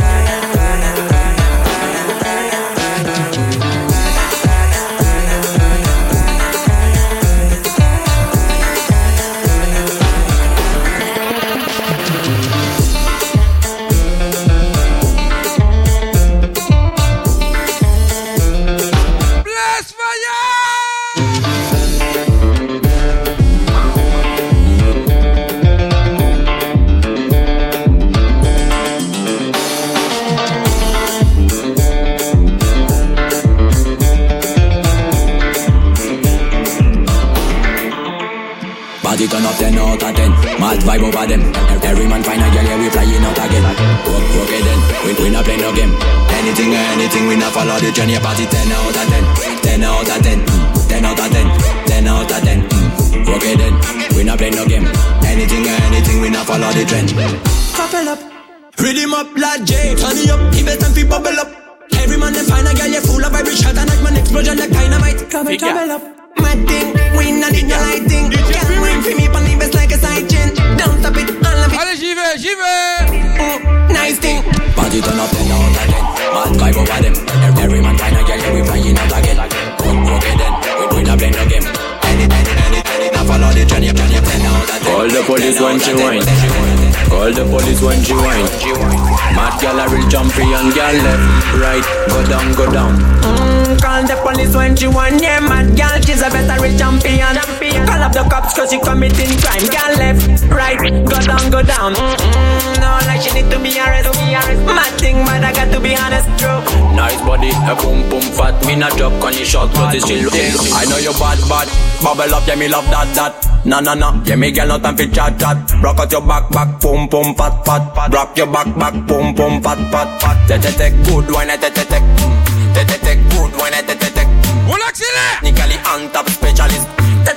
Turn up 10 out of 10, mad vibe over them. Every man find a girl, yeah, we flying out again. Okay then, we not play no game. Anything, we not follow the journey. Party 10 out of 10, 10 out of 10, 10 out of 10, 10 out of 10. Okay then, we not play no game. Anything, we not follow the trend. Couple up, rhythm up like J. Turn it up, keep it and feel bubble up. Every man they find a girl, yeah, full of vibration. And like man explosion like dynamite. Trouble up. My thing, we not in your lighting. Can't ring for me, but leave us like a side chain. Don't stop it, all of it. Allez, j'y vais. Nice thing. Party turn up 10 out of 10, mad vibe over them. Every man find a girl, yeah, we flying out again. Okay then, we not play no game. Anything, now follow the journey. 10 out of 10. Call the police when she whine. Call the police when she whine. Mad gal a real champion, gal left, right, go down. Call the police when she whine. Yeah, mad gal, she's a better real champion. Call up the cops cause she committing crime. Girl left, right, go down. No, like she need to be arrested. Mad thing, but I got to be honest, true. Nice body, a boom boom fat. Me not drop on your shot, cause it's still real. I know you bad, bubble up, yeah me love that. Nah, yeah me girl no time for chat. Rock out your back, boom boom fat. Rock your back, boom boom fat. Take good wine, take good wine, take. Technically on top specialist.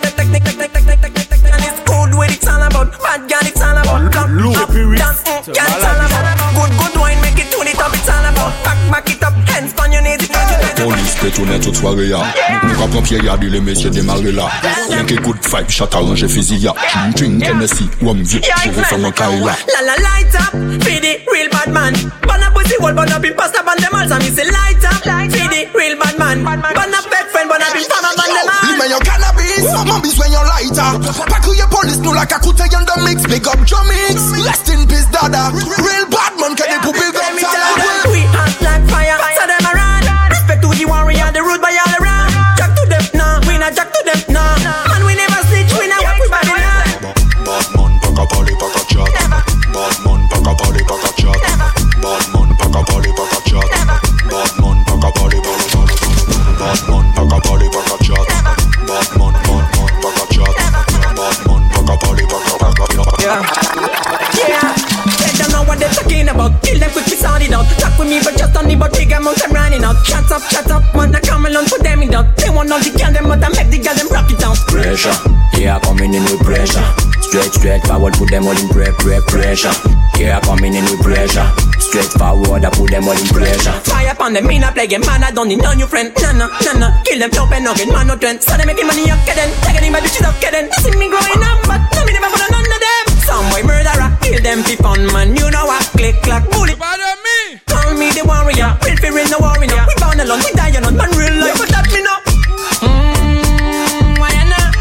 It's good what it's all about. Bad girl it's all about. Up, down, girl it's all about. Good wine make it to the top it's all about. Back it up, hands on your knees. Police pétonnait toute soirée ya. Nous rappelons Pierre y'a dit les messieurs démarrer là. Rien que good vibe, chat arrangé fusil ya. Drink Hennessy, one view, je vais faire mon carré là. La light up, feed the real bad man. Ban a pussy wall, ban up in pasta, ban them all. So me say light up, feed the real bad man. Ban up best friend, ban up in fama, ban them all. Leave me your cannabis, mambis when you lighter. Pack your police, no like a kuta in the mix. Big up Jomix, rest in peace dada. Real bad man, can they put big up talent? We hot like fire, so them around. Respect to the warrior, the root by all around. Jack to them, nah, we not jack to them, nah. Man, we never snitch, we not work with body now. Bad man, pack a party, pack a chat. Bad man, pack a party, pack a chat. Bad man, pack a party, pack a chat. Bad man, pack a party, pack a chat. Bad man, pack a party, pack a chat. Bad man, pack a chat. Bad man, pack a party, pack a chat. Yeah. They don't know what they're talking about. Kill them quick, we sound it out. Talk with me, but just on the but big amount I'm running out. Shut up, man, I come along, put them in down. They want all the girl them, but I make the girl them rock it down. Pressure, yeah, coming in with pressure. Straight forward, put them all in pressure. Yeah, coming in with pressure. Straight forward, I put them all in pressure. Fire upon them, me not play game, man, I don't need no new friend. Nah. Kill them, top and nugget, man, no trend. So they making money up, kidding. Taking my bitches up, kidding. See me growing up, but no, me never put on none of them. Some boy murderer, kill them for fun, man. You know what? Click, clack, bullet. Call me the warrior, real fear in the warrior. We bound alone, we die alone, man, real life, but that me know. Why nah.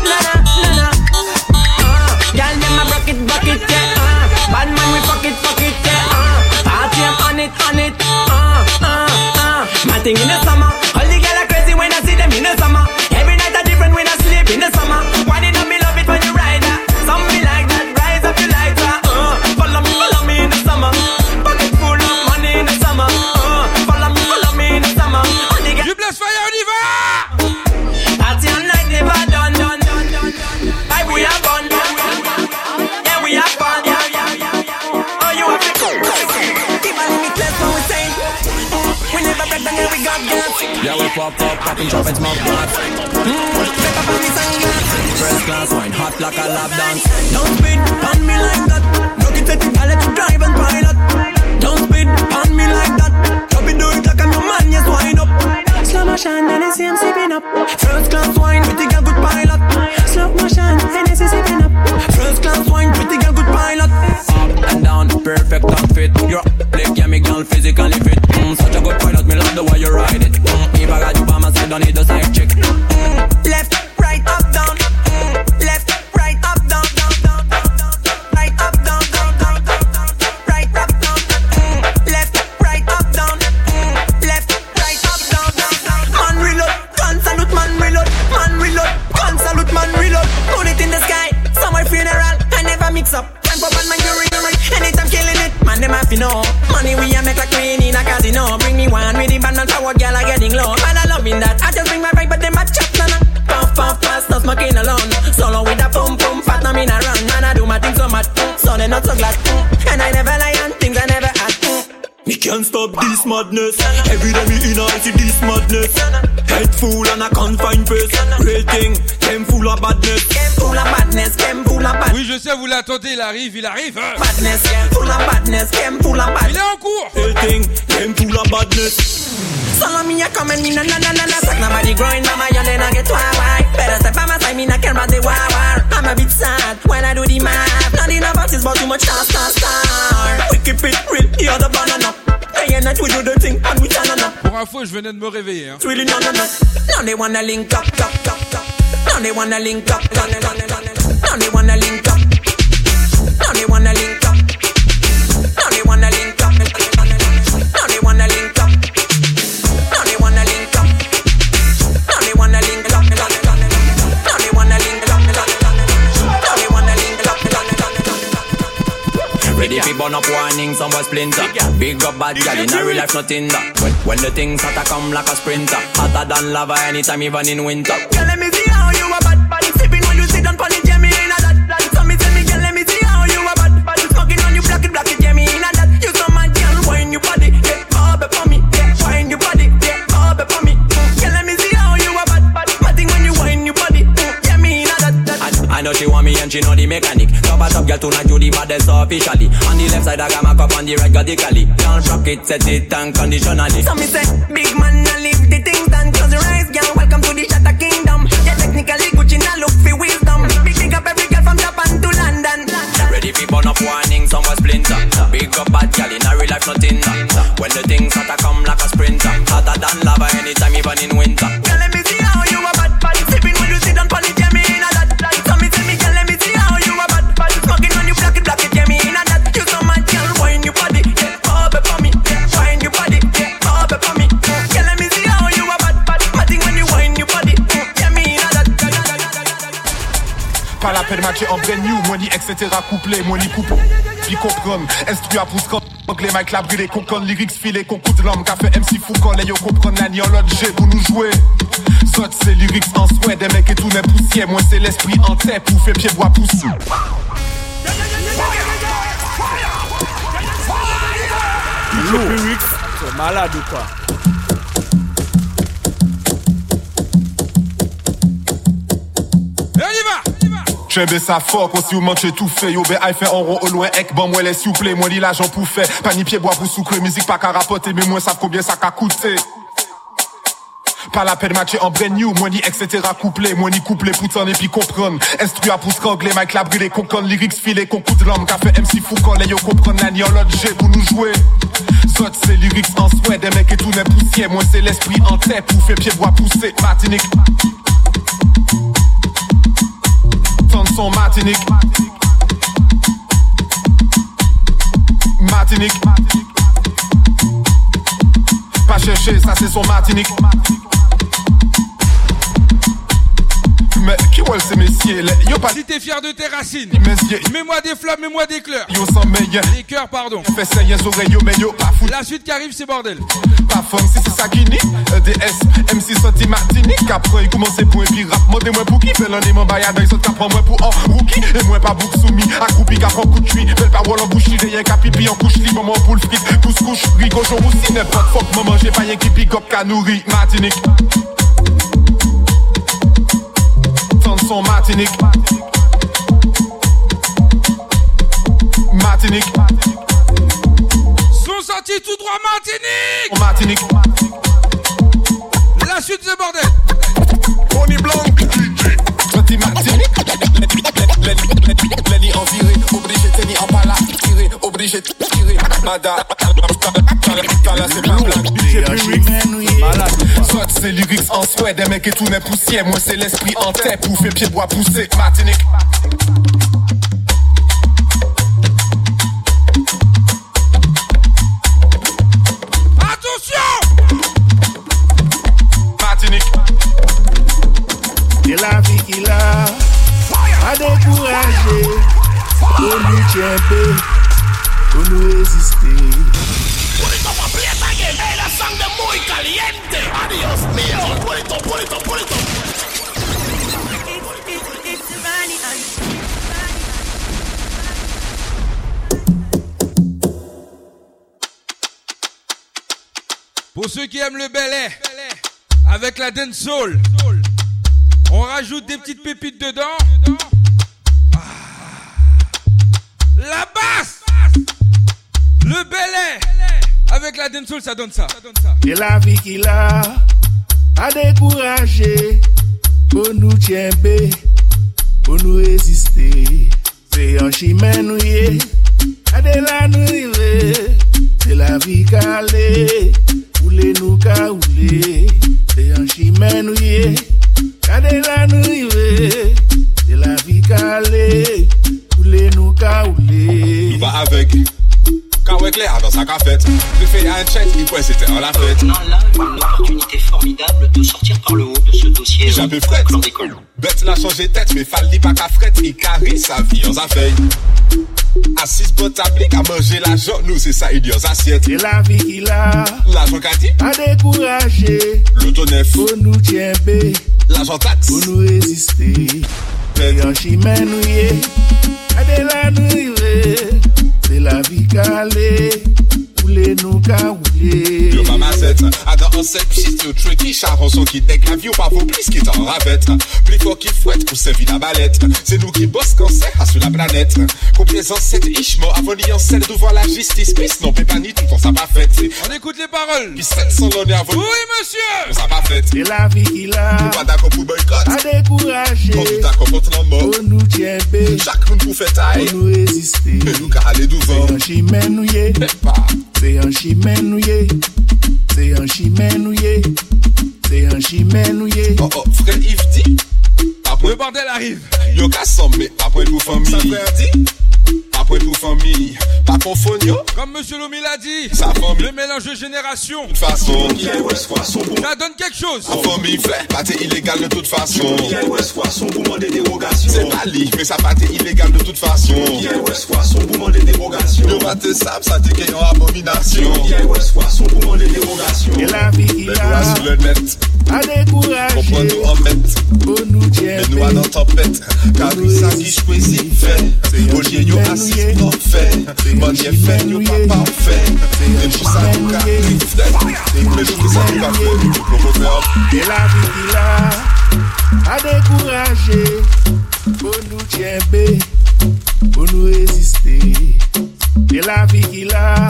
Girl, them a bucket, yeah. Bad man, we fuck it, yeah. Party up on it. My thing in the summer, all the girls are crazy when I see them in the summer. Every night a different when I sleep in the summer. Why did I me love it when you ride that? Some me like that, rise up your lighter. Follow me in the summer. Pocket full of money in the summer. Follow me in the summer. Du bless fire, on y va! Party all night, never done. Like we have fun. Yeah, we have fun. Oh, you have to go. Keep on limitless when we say. We never break down, yeah, we got gas. Yeah, we pop, popping trumpets, mouth blast. First class wine, hot like a lap dance. Don't spit on me like that. Rock it, set it, I let you drive and pilot. Don't spit on me like that. Drop it, do it like I'm your man, yes, wind up. Slow motion, Hennessy, I'm sipping up. First class wine, pretty girl, good pilot. Slow motion, Hennessy, sipping up. First class wine, pretty girl, good pilot. Up and down, perfect outfit. You're like, yeah, me girl, physically fit. Such a good pilot, me love the way you ride it. If I got you by my side, don't need a side chick. Left, right, up, down. Left, right, up, down. Right, up, down. Right, up, down. Left, right, up, down. Left, right, up, down. Man reload, gun salute, man reload. Gun salute, man reload. Put it in the sky, somewhere funeral. I never mix up. Time for bad man, you ring. Anytime killing it, man, them have to know. Money we a make like queen in a casino. Bring me one with the band and power, girl are getting low. Man, I loving that. I just bring my vibe, but them a chop, nana. Puff, fast, not smoking alone. Solo with a pum, fat, no mean a run. Man, I do my thing so much, so they not so glad. And I never lie on things I never had. Me can't stop this madness. Every day me in I see this madness. Head full and a confined face. Real thing, them full of badness. Oui, je sais, vous l'attendez, il arrive. Hein. Badness, full of badness, full of badness. Il est en cours. Real thing, them full of badness. Solo me a come and me na suck nobody growing, mama, you then I get why. Better step by my side, me not care about the war. I'm a bit sad when I do the math. Not enough artists, but too much star. We keep it real, you're the banana. Day and night we do the thing and we turn on up. Pour info, je venais de me réveiller. Hein. It's really no. Now they wanna link up. Now they wanna link up. Now they wanna link up. Now they wanna link up. Now they wanna link up. Now they wanna link up. Now they wanna link up. Now they wanna link up. Now they wanna link up. burn up warning, some boy splinter. Big up bad gal in a real life, nothing that. When the things start to come like a sprinter, hotter than lava anytime, even in winter. Girl, let me see how you a bad body sipping when you sit on pon it, yeah, me in a that. So me say me, girl, let me see how you a bad body smoking on you, black it, yeah, me in a that. You so mad, girl, wine your body, yeah, bob it for me, yeah, wine your body, yeah, bob it for me. Girl, let me see how you a bad body, matting when you wine your body, yeah, me in a that. I know she want me and she know the mechanic. Top a top girl tonight you the baddest officially. On the left side I got my cup, on the right got the cali. Don't rock it, set it unconditionally. So me say, big man, I leave the things done. Close your eyes, girl, welcome to the Shatter Kingdom. Yeah, technically Gucci now look for wisdom. Big up every girl from Japan to London. Ready for burn up warning, some was splinter. Big up bad gal in a real life, nothing that. When the things start to come like a sprinter, hotter than lava anytime, even in winter. Girl, let me see how you a bad body sipping when you sit on pon it, yeah, me in a that. So me say me, girl, let me see how you a bad body smoking on you, black it, yeah, me in a that. You so mad, girl, wine your body, yeah, bob it for me, yeah, wine your body, yeah, bob it for me. Girl, let me see how you a bad body, matting when you wine your body, yeah, me in a that. Pas la peine matcher en brand new, money, etc. couplé, money coupe. Puis comprendre, instru à pouce quand anglais, Mike la brûlé, concon, lyrics filé, concours de l'homme, café MC Foucault, les yo comprendre, nani en l'autre G pour nous jouer. Saute c'est lyrics en souhait, des mecs et tout n'est poussière, moi c'est l'esprit en tête, pour faire pied bois pousse. Lyrics, c'est malade ou quoi? J'aime ça fort, quand si vous mangez tout fait. Yo, ben, aïe fait en rond au loin, ek, bon, moi, les s'il vous plaît, moi, li l'argent pour faire. Pas ni pied bois pour soucler, musique pas qu'à rapporter, mais moi, savent combien ça qu'a coûté. Pas la peine matcher en brand new, money, etc. couplé, money couplé, poutin et puis comprendre. Instru à pouce anglais, Mike la brûlé, concon, lyrics filé, concours de l'homme, café MC Foucault, les yo comprendre, nani en l'autre G pour nous jouer. Saute c'est lyrics en souhait, des mecs et tout n'est poussière, moi c'est l'esprit en tête, pour faire pied bois pousser, Martinique. Son Martinique. Martinique. Pas chercher, ça c'est son Martinique. Mais qui voit ces messieurs? Yo pas. Si t'es fier de tes racines, messieurs. Mets-moi des flammes, mets-moi des cœurs. Yo sans meilleur. Des cœurs, pardon. Fais ça, y'a oreilles, yo, mais yo, pas fou. La suite qui arrive, c'est bordel. Pas fun, si c'est ça qui nie. EDS, MC Santi Martinique. Après, il commence pour un puis rap. Mondez-moi pour qui? Fais l'année, mon baillard, il saute, prends moi pour un rookie. Et moi, pas bouc soumis. Accroupi, qu'à prend coup de chuis. Belle parole en bouche, rien qu'à pipi en couche, li, maman pour le fric. Tous couche, rigo, jour aussi, n'importe fuck, maman, j'ai pas rien qui pique up, qu'à nourrir. Martinique. Son Martinique. Martinique. Sont sortis tout droit Martinique. Martinique. La suite c'est bordel. On est blanc. Sorti Martinique. Lenny en viré. Obligé de tenir en pala. Tiré. Obligé de tirer. Mada. Là c'est pas malade. Soit c'est lyrics en souhait, des mecs et tout n'est poussière. Moi c'est l'esprit en tête, pour faire pied bois pousser. Martinique. Attention. Martinique. Et la vie qu'il a, à décourager, pour nous tirer, pour nous résister. La sangre muy caliente. Adiós mío. Pulito. Pour ceux qui aiment le Bel Air, avec la dancehall, on rajoute des petites pépites dedans. La basse, le Bel Air. Avec la dancehall, ça donne ça. Et la vie qu'il a, à décourager, pour nous tirer, pour nous résister. C'est un chemin nouillé, à de la nouille, c'est la vie calée, oulé nous caoulé. C'est un chemin nouillé, à de la nouille, c'est la vie calée, oulé nous caoulé. Nous va avec. Avec les dans sa cafette, je fais un chat, il pourrait c'était en la fête. On a là une opportunité formidable de sortir par le haut de ce dossier. J'avais fret, bête n'a changé tête, mais fallait pas qu'à fret, il carry sa vie en sa feuille. Assis pour tablique à manger l'argent, nous c'est ça, idiot, assiette. C'est la vie qu'il a. L'argent qu'a dit. A découragé. L'autonef. Pour nous tiens bé. L'argent taxe. Pour nous résister. Et en chimène nous y est. A de la nuit. C'est la vie calée. Oulé nous ka oulé. Yo maman set, a dans un set pchit yo tricky charron son qui dek la vie ou pas vaut plus qui t'en rabette. Plus fort qui fouette pour servir la balette. C'est nous qui bosse cancer à sur la planète. Complaisant cette ishmo avant d'y en celle devant la justice. Puis non peut pas ni tout ça pas fait. On écoute les paroles. Puis 700 l'honneur avant. Oui monsieur. Ça pas fait. C'est la vie qu'il a. Nous pas d'accord pour boycott. A découragé. Quand nous d'accord contre la mort. On nous tient bé. Chaque monde pour faire taille. On nous résister. Mais nous qu'à aller devant. C'est un chimène nous y est. C'est un chimène nous y est. C'est un chimène nous y est. C'est un chimène nous y est. Oh oh, frère Yves dit. Le bordel arrive. Yo kassom mais après pour famille. Ça frère dit. Après pour famille, pas confondre yo. Comme monsieur Lomi l'a dit, sa famille. Le mélange de génération. De toute façon, ça donne quelque chose. En famille fait, pas illégal de toute façon. Pour demander dérogation. C'est pas li, mais ça pas illégal de toute façon. Pour demander dérogation. Yo pas te sable, ça te qu'il y a abomination. Pour demander dérogation. Et la vie qu'il a. Sur le net. A découragé. Comprends nous en mettre. Pour nous tiens. Mais nous à dans tempête. Car oui, ça qui choisit fait. Au lieu yo assis pour fait. Mon yé fait, yo pas parfait. Et pour ça nous qu'a mais pour ça nous qu'a fait. Et la vie qu'il a. A découragé. Pour nous tiens bé. Pour nous résister. Et la vie qu'il a.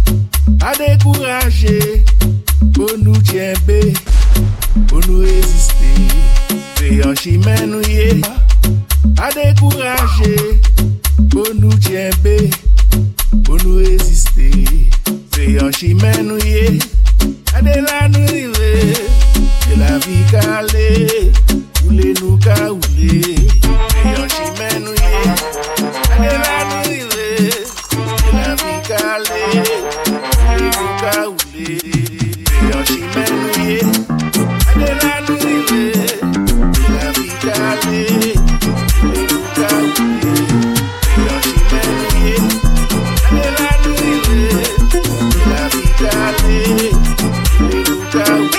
A découragé. Pour nous tiens bé. Pour nous résister. C'est un chimène nous y est. A découragé. Pour nous tiens bé. Pour nous résister. C'est un chimène nous y est. A de la nuit. C'est la vie calée. Oulé nous ka oulé. C'est un chimène nous y est. A de la nuit. C'est la vie calée. Oulé nous ka oulé. C'est un chimène nous y est. A de la nuit. C'est la vie calée. Oulé nous ka oulé. C'est un chimène nous y est. A de la nuit. C'est la vie calée. Oulé nous ka oulé.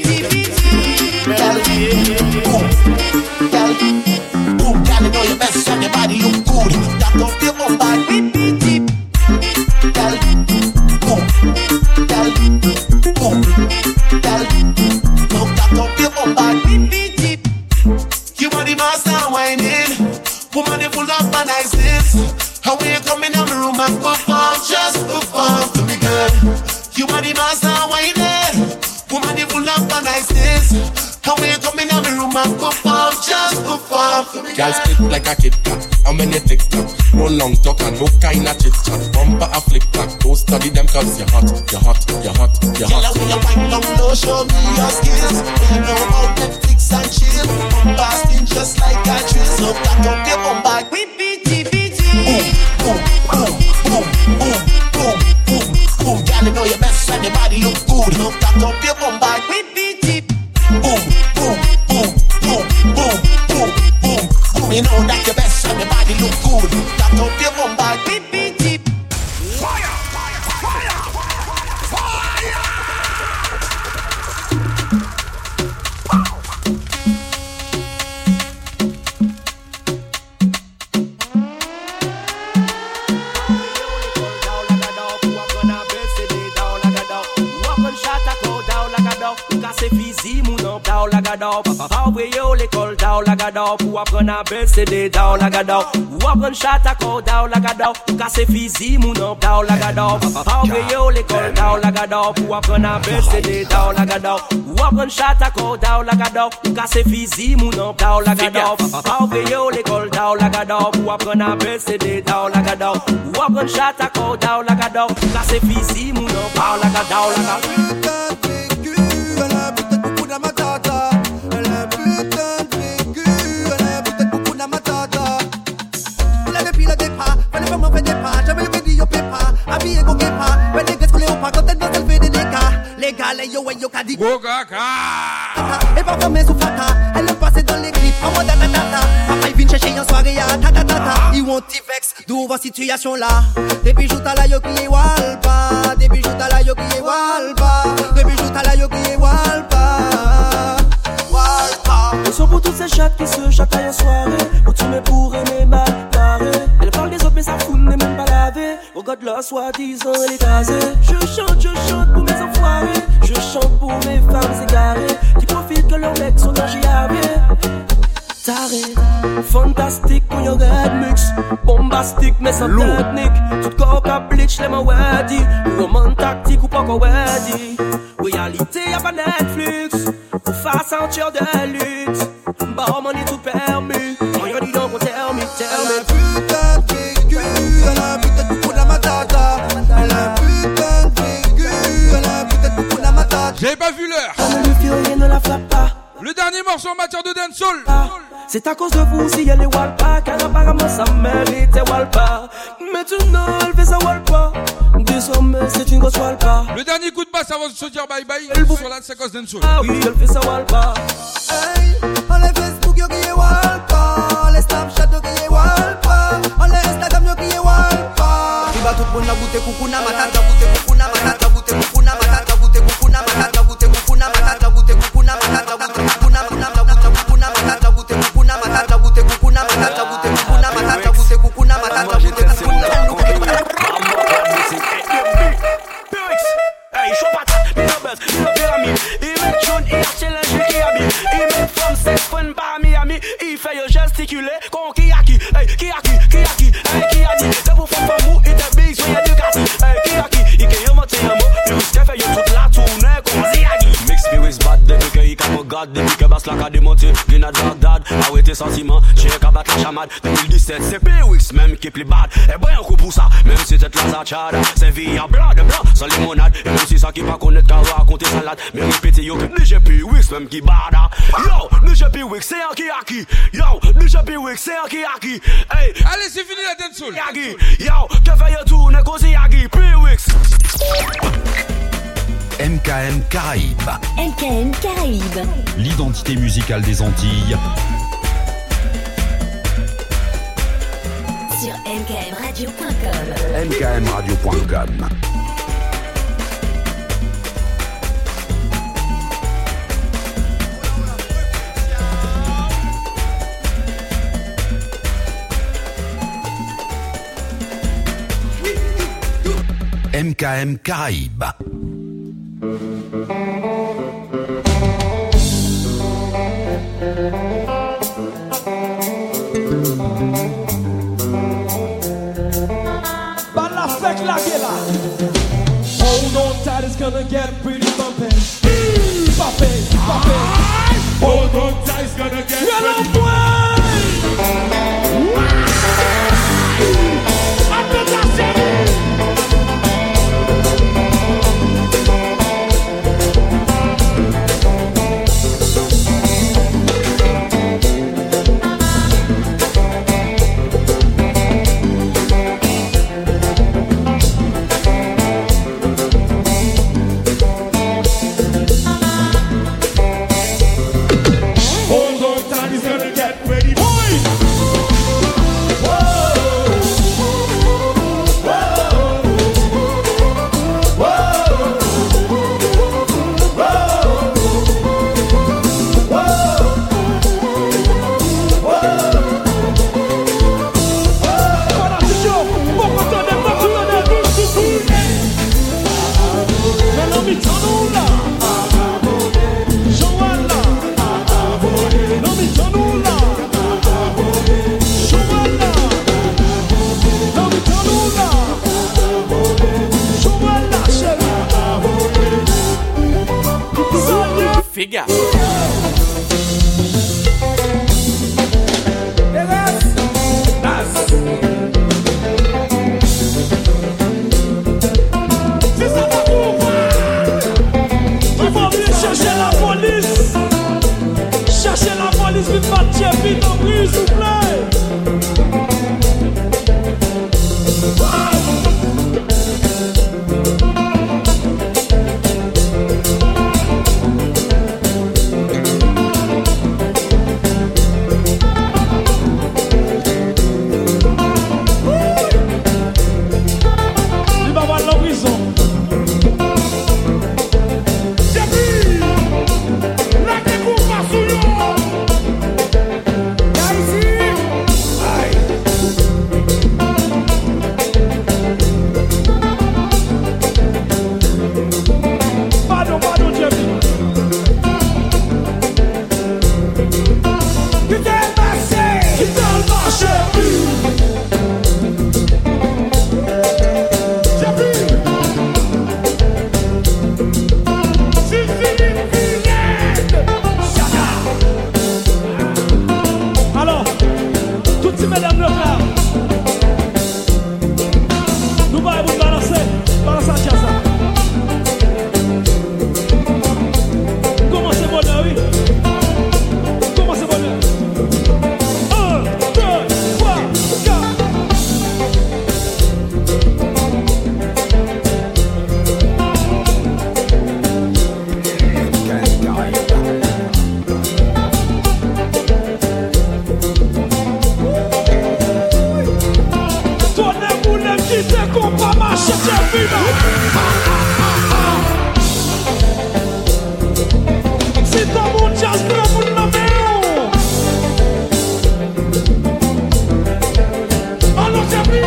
Girl, you know your best and your body look good. That don't feel my body. Girl, boom. Girl, boom. Girl, no, that don't feel my body. You are the master whining. Woman, you full of my niceness. How we coming in the room and perform, just perform to me, girl. You are the master whining. Woman, you full of my niceness. How we coming in the room and perform, just perform to me, girl. Girl spit like a Kit Kat. How many TikTok? No long talk and no kind of chit chat. Bumper a flick back. Don't study them cause you're hot, you're hot, you're hot, you're hot. Girl, when you wind down low, show me your skills. You know about Netflix and chill. Bombasting just like a drill. So back up your bum back. Boom, boom, boom, boom, boom, boom, boom, boom. Girl, you know your best and your body look good. So back up your bum back. Boom, boom, boom, boom, boom, boom, boom, boom. You know that your best and your body look good. Back up your bum back. Fire, fire, fire, fire. Papa we yo l'école down la gada pour apprendre à baisser des down la gada ou apprendre chat à corps down la gada pour casser physique mon nom down la gada Papa we yo l'école down la gada pour apprendre à baisser des down la gada ou apprendre chat à corps down la gada pour casser physique mon nom down la gada Papa we yo l'école down la gada pour apprendre à baisser des down la gada ou apprendre chat à corps down la gada pour casser physique mon nom down la gada Et parfois mes sous-fata, elle le passait dans les clips. En mode data, papa vin chercher en soirée à ta ta ta ta. Ils ont petit vex, d'où va situation là. Des bijoux à la yo qui est walpa. Des bijoux à la yo qui est walpa. Des bijoux à la yo qui est walpa. Ils sont pour toutes ces chattes qui se chataillent en soirée. Quand tu me pour aimer mal paré. Elle parle des autres mais ça fout n'est même pas lavé. Regarde la soi-disant elle est casée. Je chante pour mes enfoirés. Je chante pour mes femmes égarées qui profitent que leurs mecs sont en JAV. Taré, fantastique quand y'a red mix. Bombastique mais sans technique. Tout corps à bleach les mains weddy. Roman tactique ou pas qu'on weddy. Réalité y'a pas Netflix. Ou face en tir de luxe. Bah money tout permis. On y'a dit donc on tell me. Putain de vécu, elle a putain de coucou dans ma tata. Elle a putain de vécu, elle a putain de coucou dans ma tata. J'avais pas vu l'heure. Le furieux ne la flappe pas. Le dernier morceau en matière de dancehall. C'est à cause de vous si elle est walpa. Car apparemment sa mérite est walpa. Maintenant elle fait sa walpa. Désormais c'est une grosse walpa. Le dernier coup de basse avant de se dire bye bye. Sur la séquence dancehall. Ah oui elle fait sa walpa. Hey, on les Facebook yo qui est walpa. On les Snapchat yo qui est walpa. On les Instagram yo qui est walpa. Il va tout le monde la goûter coucou na matata. Goûter coucou na matata. Goûter coucou na matata. Goûter coucou na matata. Goûter coucou na matata. Goûter coucou na matata. Goûter coucou na matata. Goûter coucou na matata. Goûter coucou na matata. Goûter coucou na matata. Goûter coucou na matata. Goûter coucou na matata. Goûter coucou na matata. Hey, show patate, me no buzz, me no pyramide. Il met jaune, il challenge, il habille. Il met femme, c'est fun par Miami. Il fait yo gesticuler, con qui a qui. Hey, qui a qui, hey, qui a dit. C'est pour faire mou, il te bise, soyez du gâti. Hey, qui a qui, il qui remonte un mot. Il risque fait yo toute la tournée, comme Ziagi. Mix spirits bad, depuis que il me garde. Depuis que basse la ca démonté, grenade Bagdad. Arrêtez sentiment, j'ai qu'à battre la chamade. 2017, c'est P-Wix même qui est plus bad. Et ben un coup pour ça, même si c'est la zachade. C'est vie en blanc de blanc, sans limonade. Et même si ça qui pas connaître qu'à raconter salade. Mais répétez yo que ni j'ai P-Wix même qui bada. Yo, ni j'ai P-Wix, c'est un qui a qui. Yo, ni j'ai P-Wix, c'est un qui a qui. Hey, allez c'est fini la dancehall. Yagi, yo, que fait yo tourner cause Yagi, P-Wix. MKM Caraïbes. MKM Caraïbes. L'identité musicale des Antilles. Sur mkmradio.com. mkmradio.com. MKM Caraïbes. Hold on tight, it's gonna get pretty bumpin'. Bumpin', bumpin'. Hold on tight, it's gonna get pretty bumpin'. Si t'es compas, marche, t'es vivant. Si t'as mon jazz, t'as mon nom. Alors t'as vu.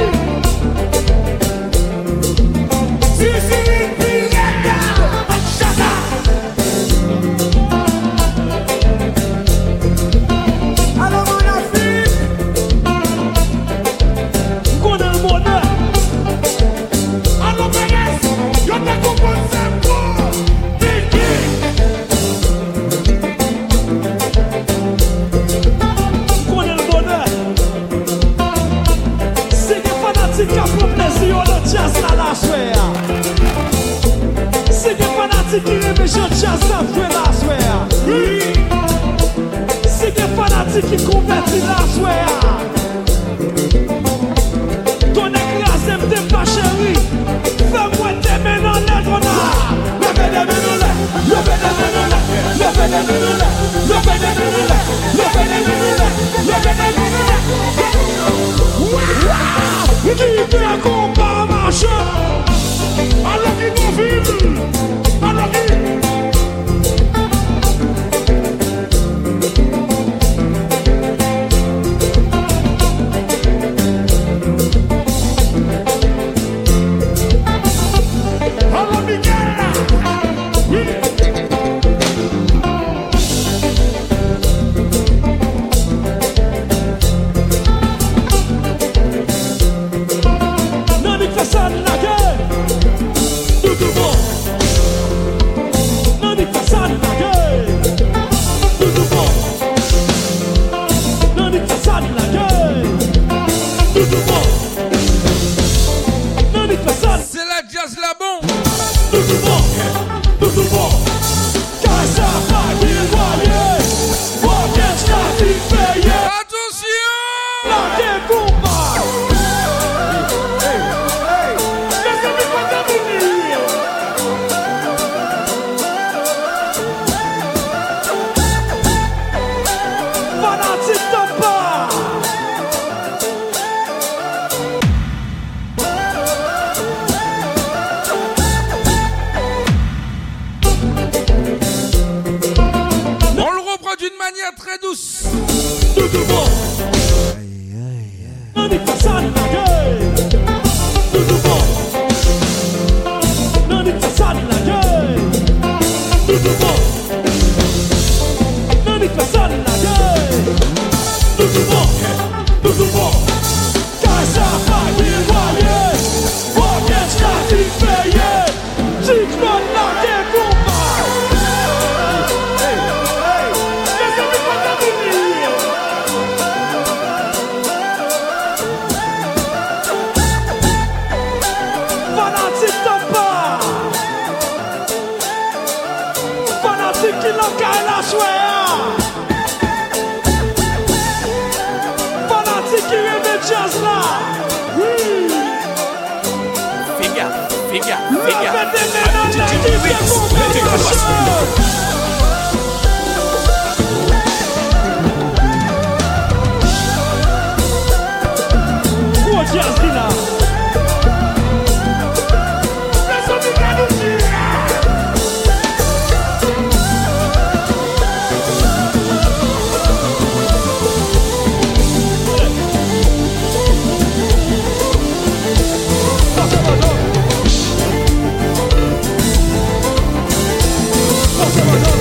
Qui aime chant jazz ça fait la soirée. Oui. C'est des fanatiques qui convertissent la soirée. Ton écrasé me t'es pas chéri. Fais-moi t'aimer dans les grenades. Levez les mains dans l'air. Levez les mains dans l'air. Levez les mains dans l'air. Levez les mains dans l'air. Levez les mains dans l'air. Levez les mains dans l'air. Waouh. Qui fait un combat marchand. Alors qu'ils vont vivre. Come on.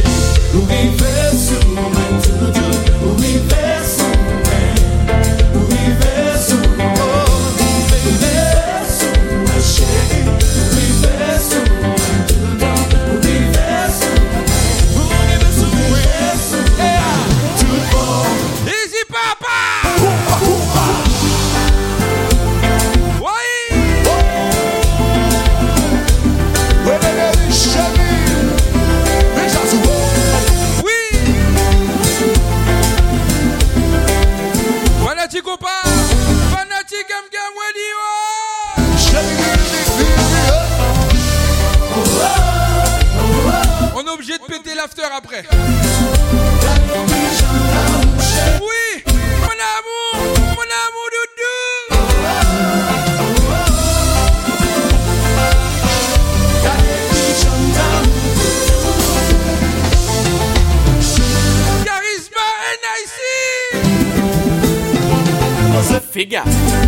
Figa.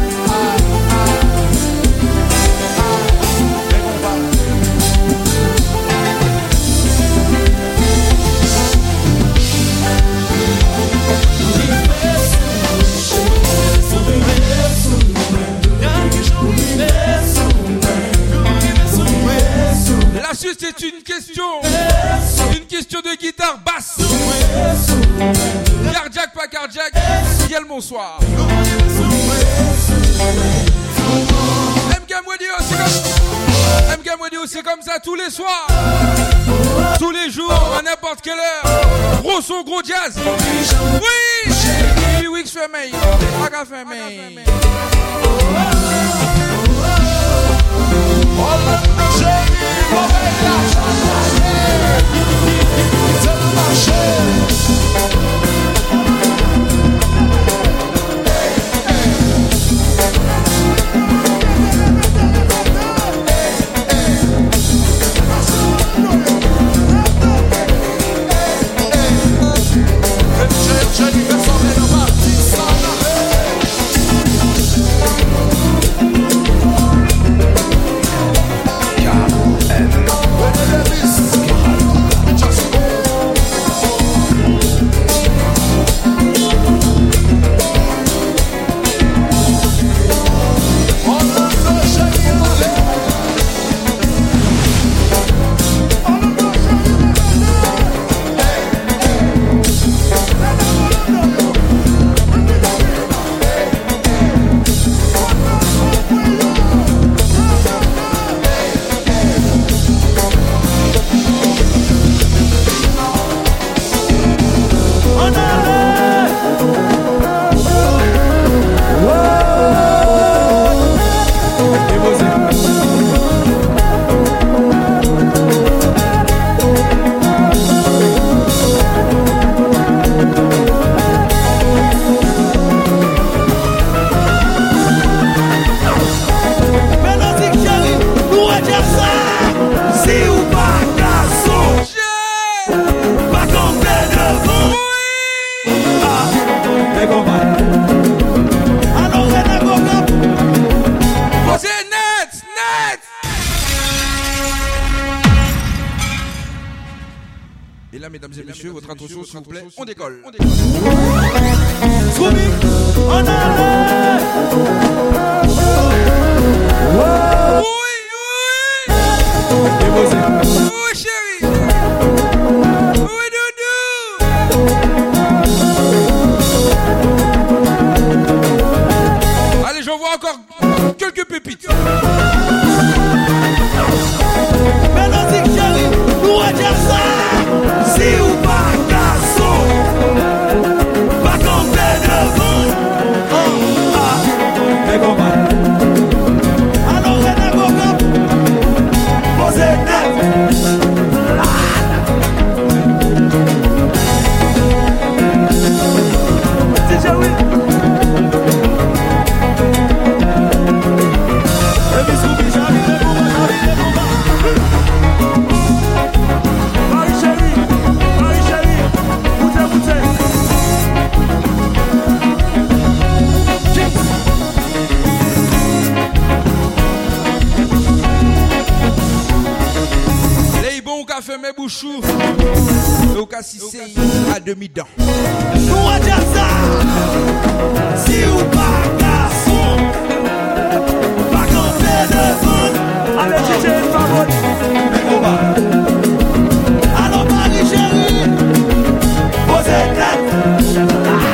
La suite c'est une question de guitare basse. Cardiaque, pas cardiaque, Yel bonsoir. MK Modio, c'est comme ça tous les soirs, tous les jours, à n'importe quelle heure. Gros son, gros jazz. Oui, oui, oui, je fais mail. Pas fait mail. Et là, mesdames et messieurs, votre attention, s'il vous plaît, on décolle. Oui, chérie. Oui, doudou. Allez, j'en vois encore quelques pépites. Mélodique chérie, nous à dire ça. Si ou pas garçon, pas compter devant. Mais comment? Alors René Bocop, posez net. DJ Will. Fait mes bouchous, Et au cas si c'est à demi-dent. Nous à dire ça. Si ou pas garçon, pas camper devant. Allez, DJ, favori. Mais on va. Alors, Marie chérie, posez tête.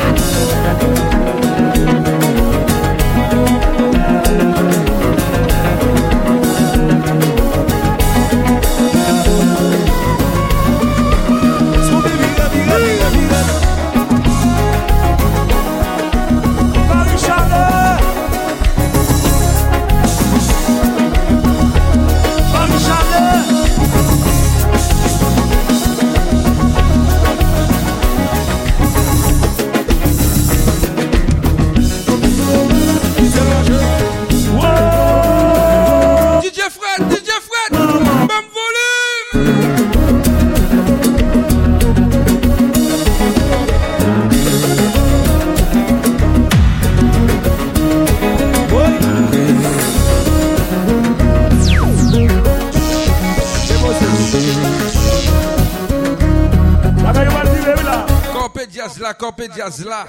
Corpé Diaz là.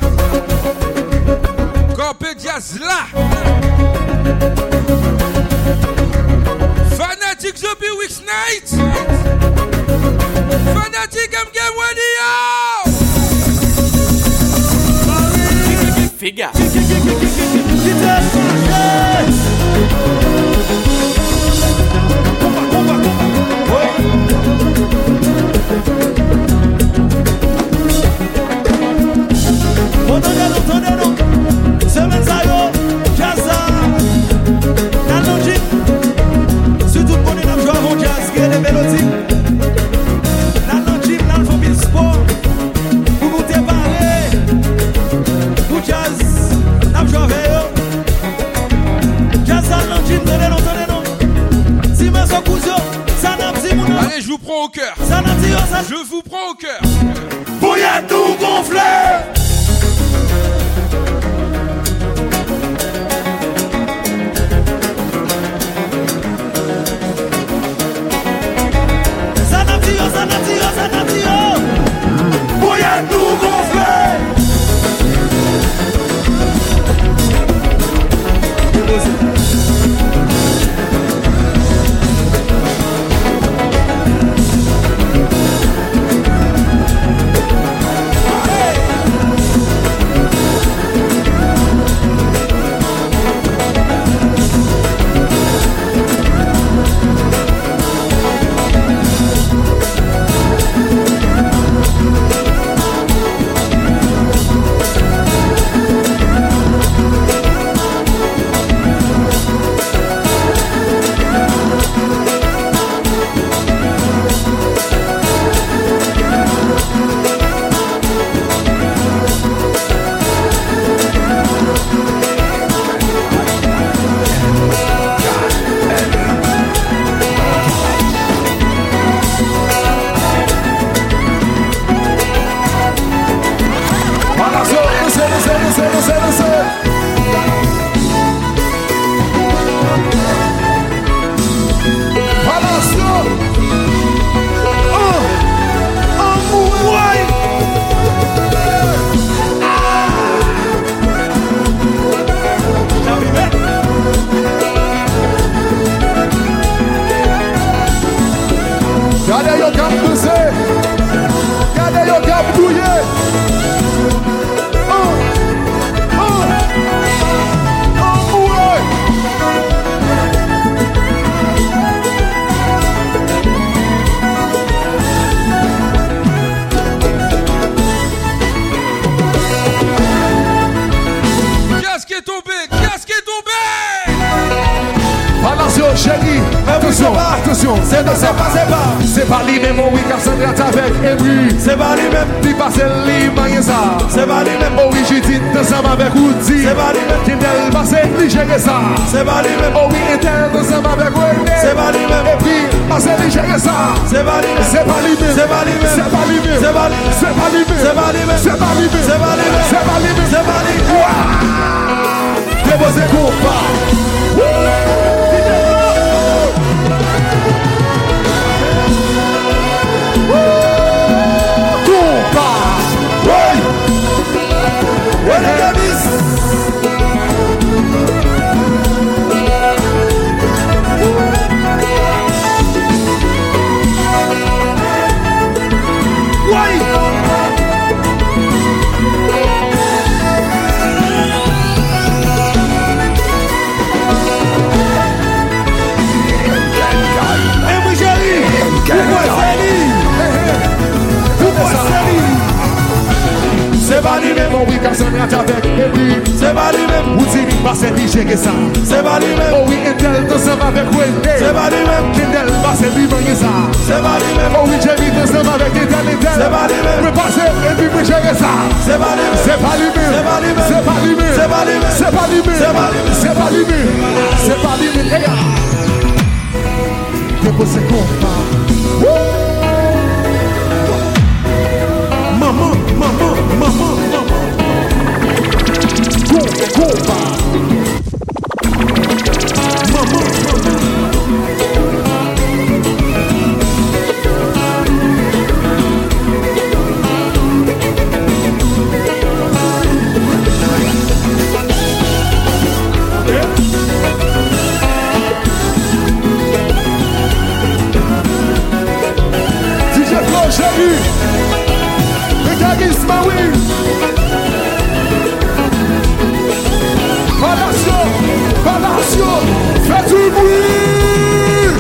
Corpé Diaz là. Fanatic Zombie Weeks Night. Fanatic Game Radio. Figa. Entendez-nous, semaine ça yo, jazza, dans le gym, surtout qu'on est dans le joueur avant jazz, qui est les mélodies, dans le gym, dans le famille sport, pour nous débarrer, pour jazz, dans le joueur avec yo, jazza dans le gym, entendez-nous, si mes cousin, ça n'a pas mon nom. Allez, je vous prends au cœur. Ça n'a pas ça. Je vous prends au cœur. Bouillard tout gonflé. Attention, c'est pas lui-même, oui, car ça traite avec Henry. C'est pas lui-même, tu passes l'image ça. C'est pas lui-même, oh oui, j'ai dit ensemble avec Woody. C'est pas lui-même, qui t'elle passe lui gérer ça. C'est pas lui-même, oh oui, était ensemble avec René. C'est pas lui-même, et puis passe lui gérer ça. C'est pas lui-même, c'est pas lui-même, c'est pas lui-même, c'est pas lui-même, c'est pas lui-même, c'est pas lui-même, c'est pas lui-même, c'est pas lui-même, c'est pas lui-même, c'est pas lui-même, c'est pas lui-même. Déposez compas. Cassandra avec Eddie. C'est pas lui-même. Ou Timmy, pas c'est DJ que ça. C'est pas lui-même. Oh oui, Intel, ensemble avec Wendy. C'est pas lui-même. Kindle, pas c'est lui-même que ça. C'est pas lui-même. Oh oui, Jamie, ensemble avec Intel. C'est pas lui-même. Mais passer, et puis vous gérez ça. C'est pas lui-même. C'est pas lui-même. C'est pas lui-même. C'est pas lui-même. C'est pas lui-même. C'est pas lui-même. C'est pas lui-même. C'est pas lui-même. Hey, depois você compra. Mamã. Compra. Mamã. Chérie, regarde Ismaël. Palacio, fais du bruit.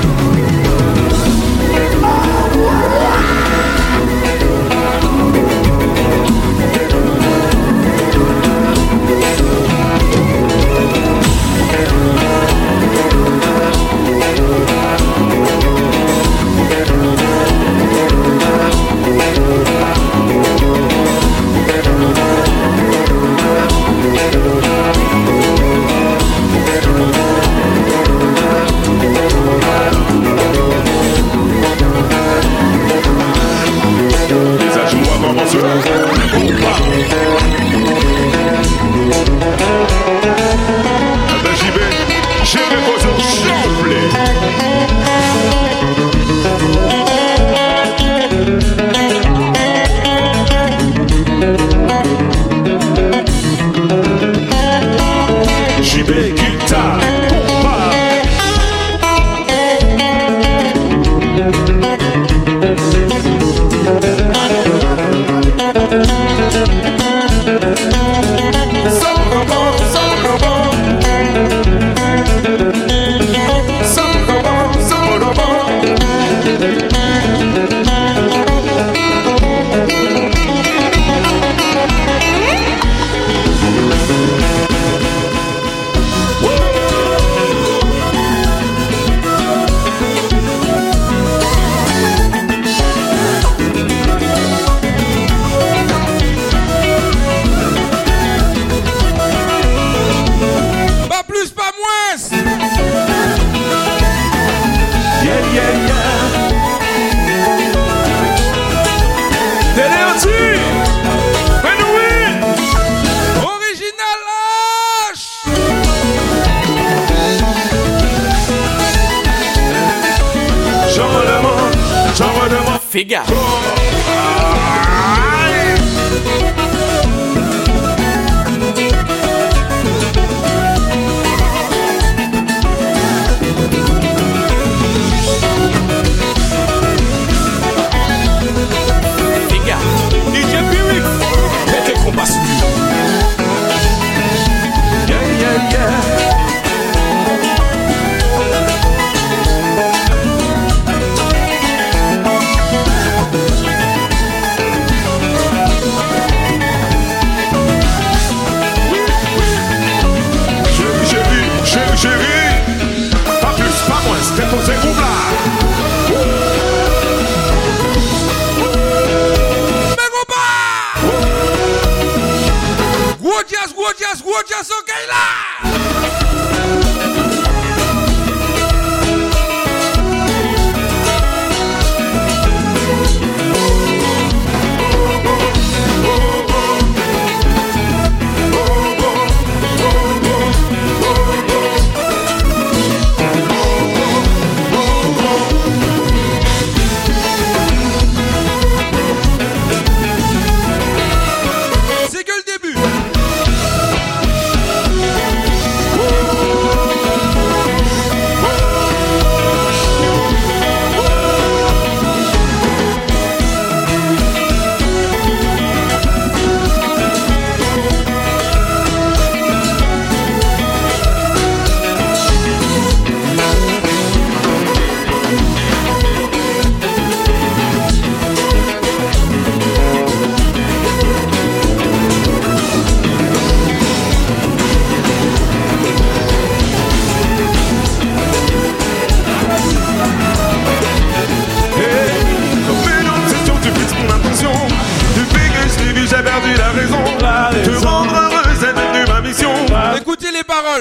Figa. Figa. DJ Pirix. Mettez combat sur lui. Yeah.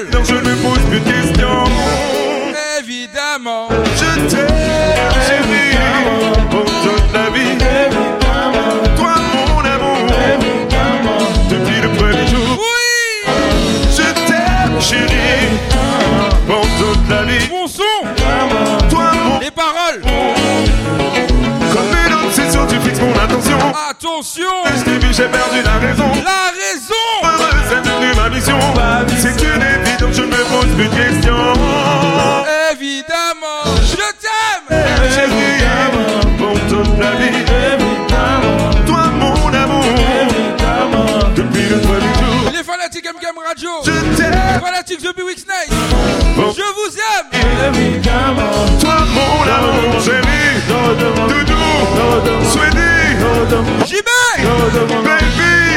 paroles. Non, je ne me pose plus de questions. Évidemment. Je t'aime, chérie, pour toute la vie. Toi, mon amour, depuis le premier jour. Oui. Je t'aime, chérie, pour toute la vie. Mon son. Toi, mon... Les paroles. Comme une obsession, tu fixes mon attention. Attention. Je t'ai vu, j'ai perdu la raison. La raison. Heureuse, c'est devenu ma mission. C'est une évidence, je ne me pose plus de questions. Évidemment. Je t'aime. Chérie, pour toute la vie. Toi, mon amour. Depuis le premier jour. Les fanatiques MKM Radio. Je t'aime. Les fanatiques de Weeks Night. Je vous aime. Toi, mon amour, chérie. Doudou. Sweetie. JB. Baby.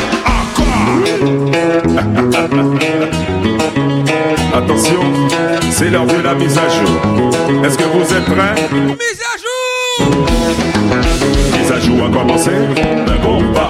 Attention, c'est l'heure de la mise à jour. Est-ce que vous êtes prêts? Mise à jour. Mise à jour a commencé. Un bon pas.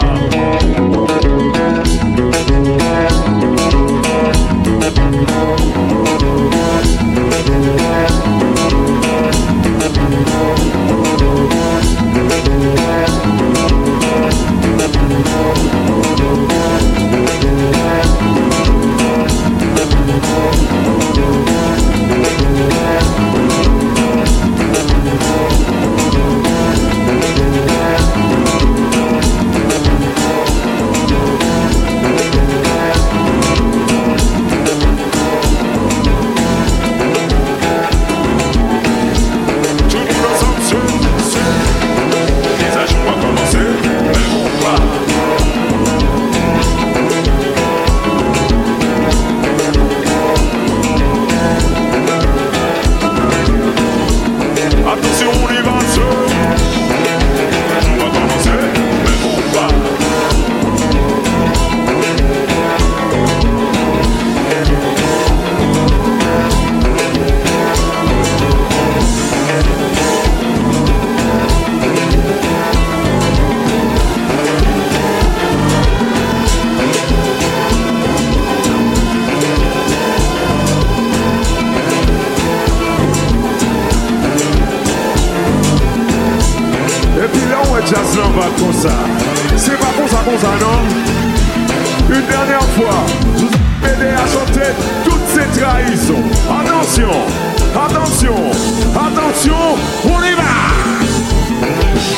C'est pas comme ça, non? Une dernière fois, je vous ai aidé à chanter toutes ces trahisons. Attention, attention, attention, on y va!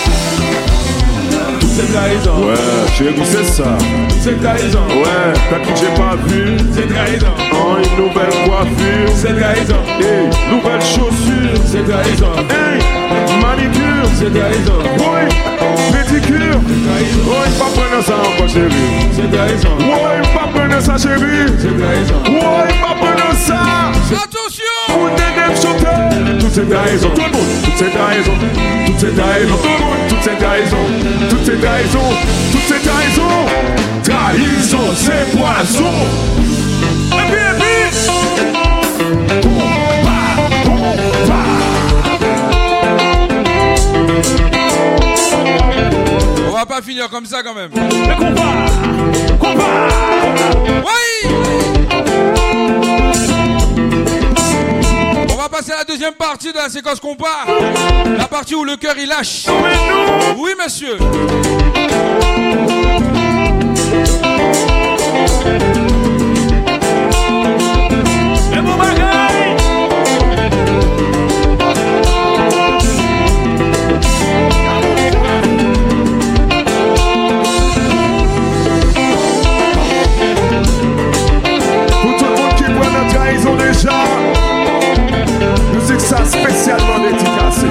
Toutes ces trahisons. Ouais, chérie, c'est ça. Toutes ces trahisons. Ouais, t'as qui j'ai pas vu. C'est trahison. Oh, une nouvelle coiffure. C'est trahison. Hey, nouvelle chaussure. C'est trahison. Hey, manicure. C'est trahison. Oui, pédicure. Oui, pas prendre ça encore, chérie. C'est trahison. Oui, pas prendre ça, chérie. C'est trahison. Oui, pas prendre ça. Attention. Vous t'aidez chanter. Toutes ces trahisons, tout le monde. Toutes ces trahisons. Toutes ces trahisons, tout le monde. Toutes ces trahisons. Toutes ces trahisons. Toutes ces trahisons. Trahison, c'est poison. Et puis. On va pas finir comme ça quand même. Le combat. Oui. On va passer à la deuxième partie de la séquence combat. La partie où le cœur il lâche. Oui monsieur. Le bon bagaille. Pour tout le monde qui voit notre trahison déjà, musique ça spécialement dédicacée.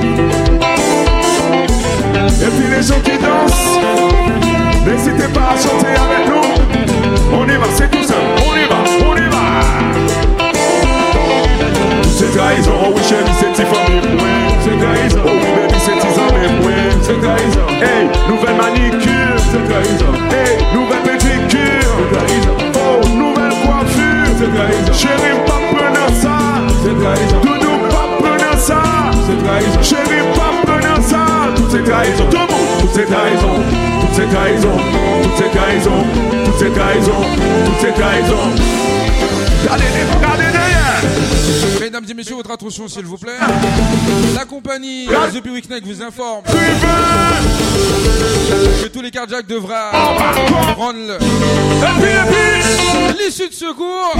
Et puis les gens qui dansent, n'hésitez pas à chanter avec nous. On y va, c'est tout seul. On y va, on y va. Toutes ces trahisons, oh oui chérie, c'est tes familles, point. C'est trahison, oh oui baby, c'est tes amis, point. C'est trahison. Hey, nouvelle manicure. C'est trahison. Hey, nouvelle pédicure. C'est trahison. Oh, nouvelle coiffure. C'est trahison. Chérie, pas prenant ça. C'est trahison. Doudou, pas prenant ça. C'est trahison. Chérie, pas prenant ça. Toutes ces trahisons, tout le monde. Toutes ces trahisons, toutes ces trahisons, toutes ces trahisons, toutes ces trahisons, toutes ces trahisons. Regardez derrière. Mesdames et messieurs, votre attention s'il vous plaît. La compagnie The Piwik Night vous informe que tous les cardiaques devraient prendre l'issue de secours.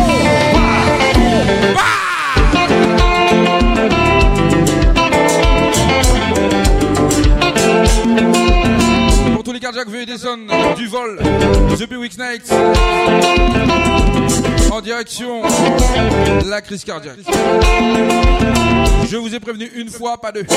Pour tous les cardiaques, veuillez descendre du vol The Piwik Night en direction de la crise cardiaque. Je vous ai prévenu une fois, pas deux.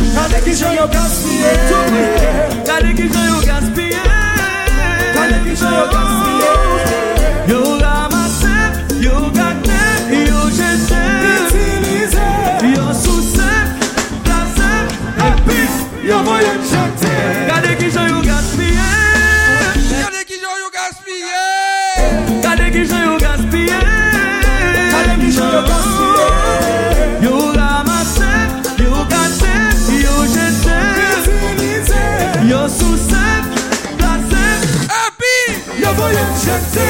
Yo gaspillé, yo gaspillé. Yo ramassé, yo gâté, yo jeté, utilisé, yo soucé, placé, et puis yo voyé jeté. Regardez qui j'en yo gaspillé. Regardez qui j'en yo gaspillé. Regardez qui j'en yo gaspillé. Regardez qui j'en yo gaspillé. Yo ramassé, yo gâté, yo jeté, utilisé, yo soucé, placé, et puis yo voyé jeté.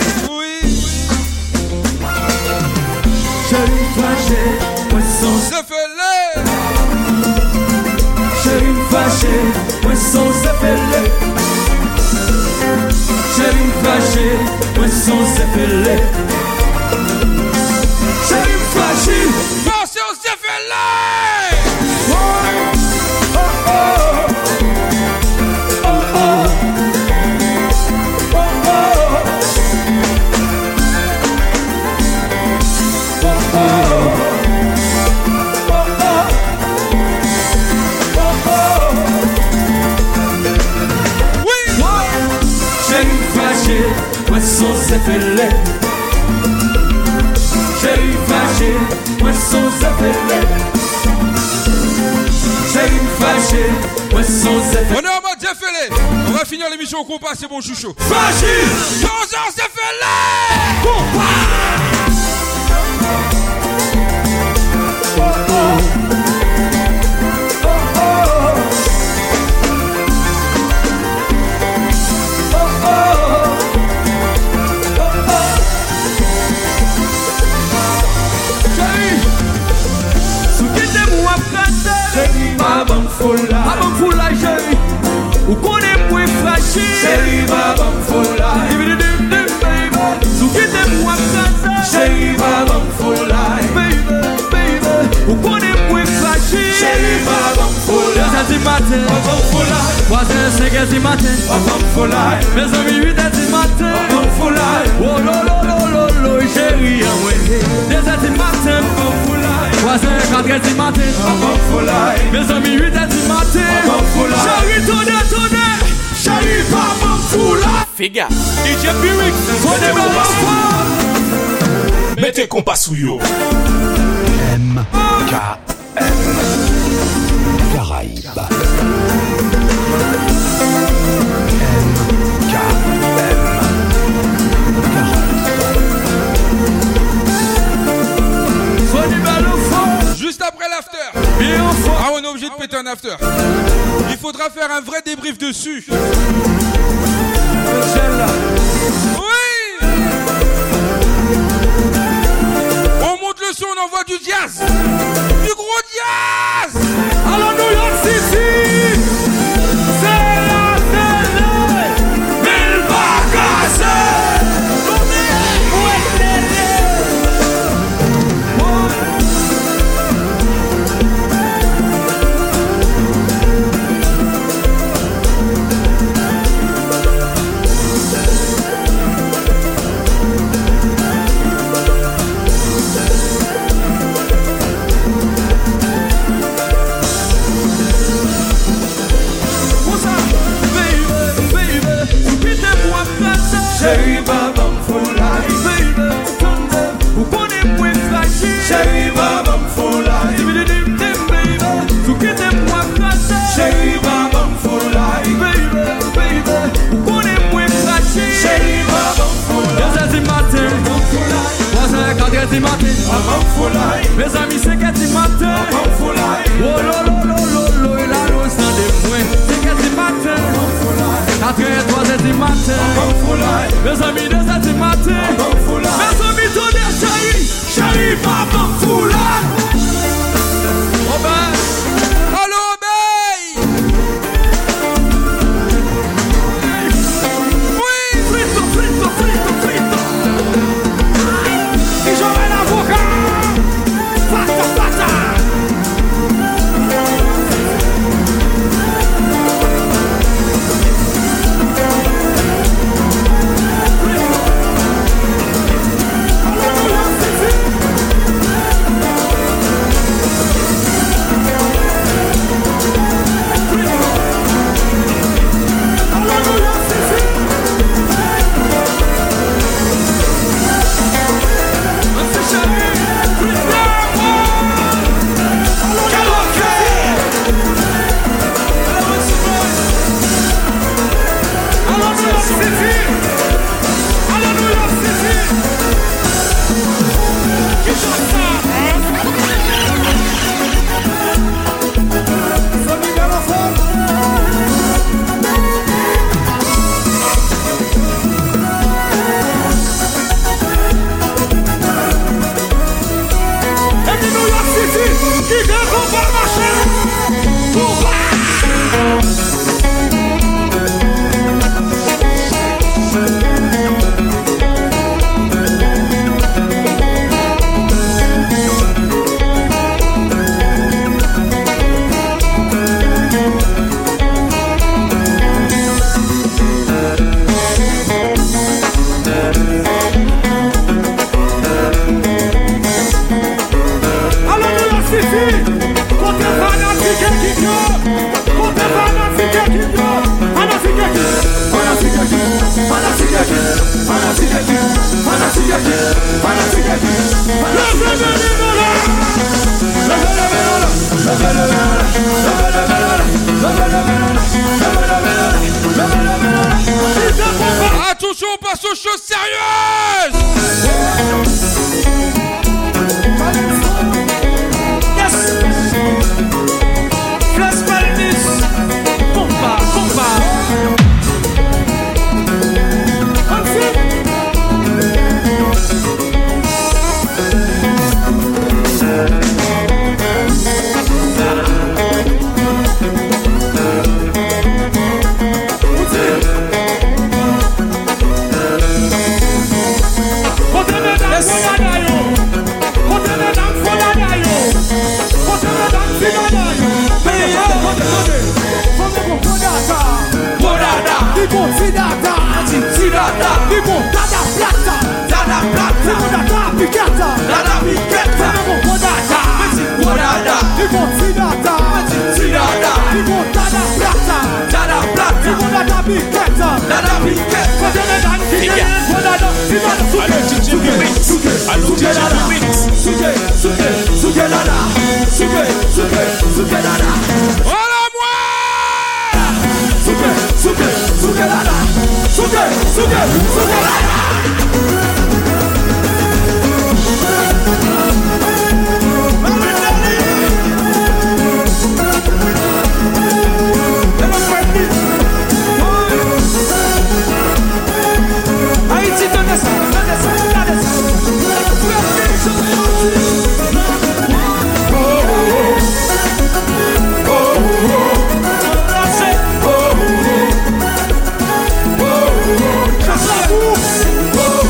Chérie fâché, moi son zéphelé. Chérie fâché, moi son zéphelé. Chérie fâché, moi son zéphelé. Chérie fâché, pensez au zéphelé. Oh oh oh oh oh oh oh. Moi son zéphelé. Chérie fâché, moi son zéphelé. Chérie fâché, moi son zéphelé. On est en mode zéphelé. On va finir l'émission au compas, c'est bon chouchou. Fâché, Jean-Jean zéphelé. Babam foula, chérie. Ou connaît moins fragile. Chérie, babam foula. Sou qui t'aime moi casa. Chérie, babam foula. Baby. Ou connaît moins fragile. Chérie, babam foula. 2h du matin. Babam foula. 3h, 5h du matin. Babam foula. Mes amis 8h du matin. Babam foula. Oh lolo, chérie, ouais. 2h du matin. Babam foula. 3h, 4h du matin. Babam foula. Mes amis 8h du matin. Babam foula. Chérie, tourne. Chérie, babam foula. Figa. DJ Pirix. Connais babam foula. Mettez compas sous yo. MKM Caraïbes. Juste après l'after. Ah, on est obligé de péter un after. Il faudra faire un vrai débrief dessus. Oui. On monte le son, on envoie du jazz. Du gros jazz. Alors New York City. C'est la télé. Mille vacances. Chérie, babam foula. Baby, ou connaît moins fragile. Chérie, babam foula. Baby, ou qui t'aime moins fragile. Chérie, babam foula. Baby, ou connaît moins fragile. Chérie, babam foula. 2h du matin. 3h, 4h du matin. Babam foula. Mes amis, 5h du matin. Babam foula. Oh lolo, il a l'eau sans des moins. 5h du matin. 4h, 3h du matin. Mes amis, 2h du matin. Mes amis, tournez, chérie, babam foula. Robert. Allô, Obey. Oui. Frito. E joga na boca. Pata. Attention, on passe aux choses sérieuses. Yes. Flash Palmis. Compa, compa. Voilà moi. Oh,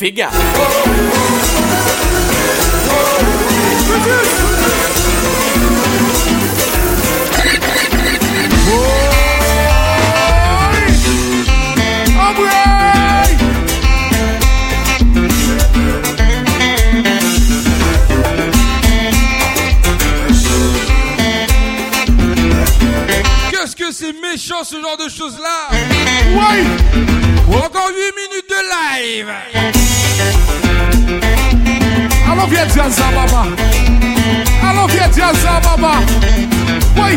Fais gaffe. Qu'est-ce que c'est méchant ce genre de choses-là? Oui. Encore 8 minutes de live. Allons viens dire ça, maman. Allons viens dire ça, maman. Oui.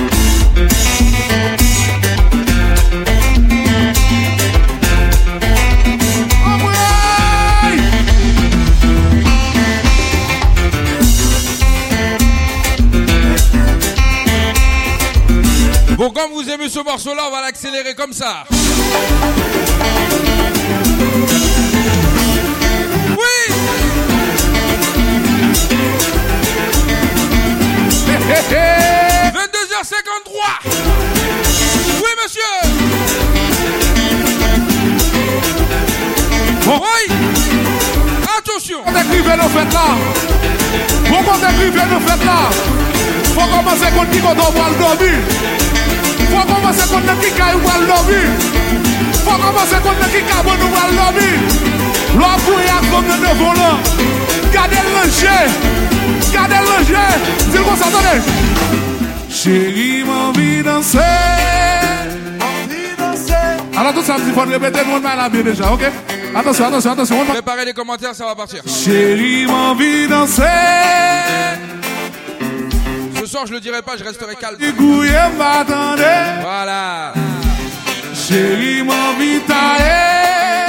Bon, comme vous aimez ce morceau-là, on va l'accélérer comme ça. Oui. 22h53. Oui, monsieur. Bon. Oui. Attention. On écrivait nos fêtes là. Bon, on écrivait nos fêtes là. Faut commencer contre qui qu'on doit le dormir. Faut commencer contre qui qu'on doit le dormir. Faut commencer contre qui qu'on doit le dormir. L'homme pour y avoir comme de volant. Gardez le jeu. Gardez le jeu. Dis-moi ça, attendez. Chérie, m'envie danser. Alors tout ça, il faut répéter, nous on a la bien déjà, ok? Attention, attention, attention. Préparez les commentaires, ça va partir. Chérie, m'envie danser. Ce soir, je le dirai pas, je resterai calme. Voilà. Chérie, m'envie tailler.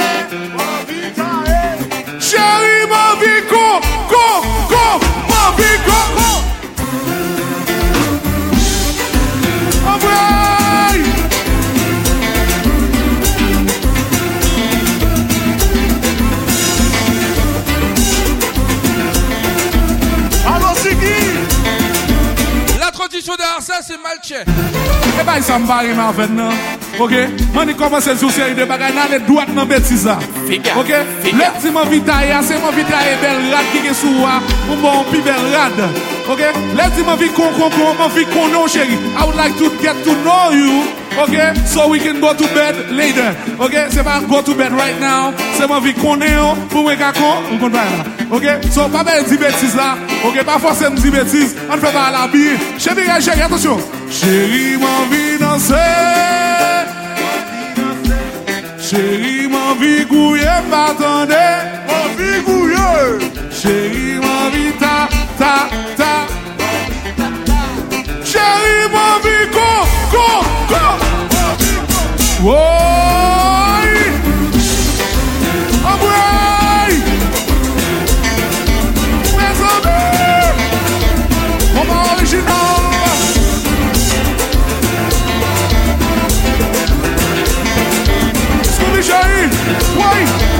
Chérie, m'envie go, m'envie go. La transition derrière ça, c'est Malche. Eh ben, ça me barre en fait, non? Ok? Moi, je commence sur série de bagages, là, les droites dans bêtise. Ok? Le petit m'envie tailler, c'est m'envie tailler belle rade qui est sous moi, ou mon pi belle rade. Ok? Le petit m'envie m'envie non, chérie. I would like to get to know you. Okay, so we can go to bed later. Okay, c'est pas go to bed right now. C'est ma vie qu'on est pour moi qu'on comprend là. Okay, so pas belle dire bêtises là. Okay, pas forcément dire bêtises. On fait pas la bille. Chérie, attention. Chérie, m'envie danser. Chérie, m'envie gouiller, m'attendez. M'envie gouiller. Chérie, m'envie ta. Chérie, m'envie go. Woi, Abouay, mes amis, moment original. Scooby Chérie, woi.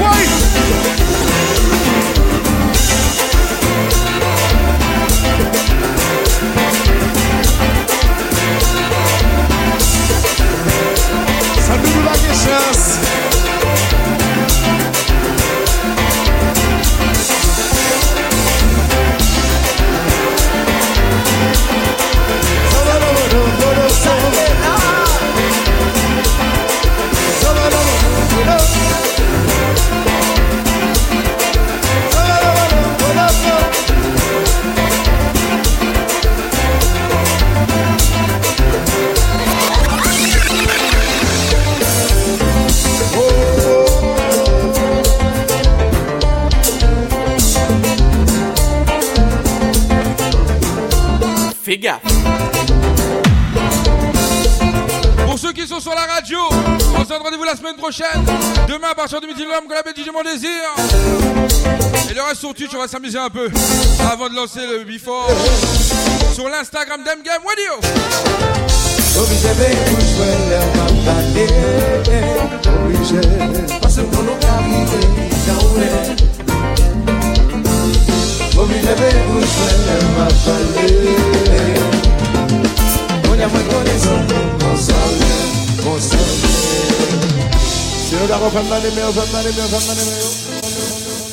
Ça nous la chance. Fais gaffe. Pour ceux qui sont sur la radio, on se donne rendez-vous la semaine prochaine. Demain à partir de midi, l'homme qu'on appelle DJ Mon Désir. Et le reste sur Twitch, on va s'amuser un peu avant de lancer le before sur l'Instagram d'M-Game Radio. Si no te hago fermar, me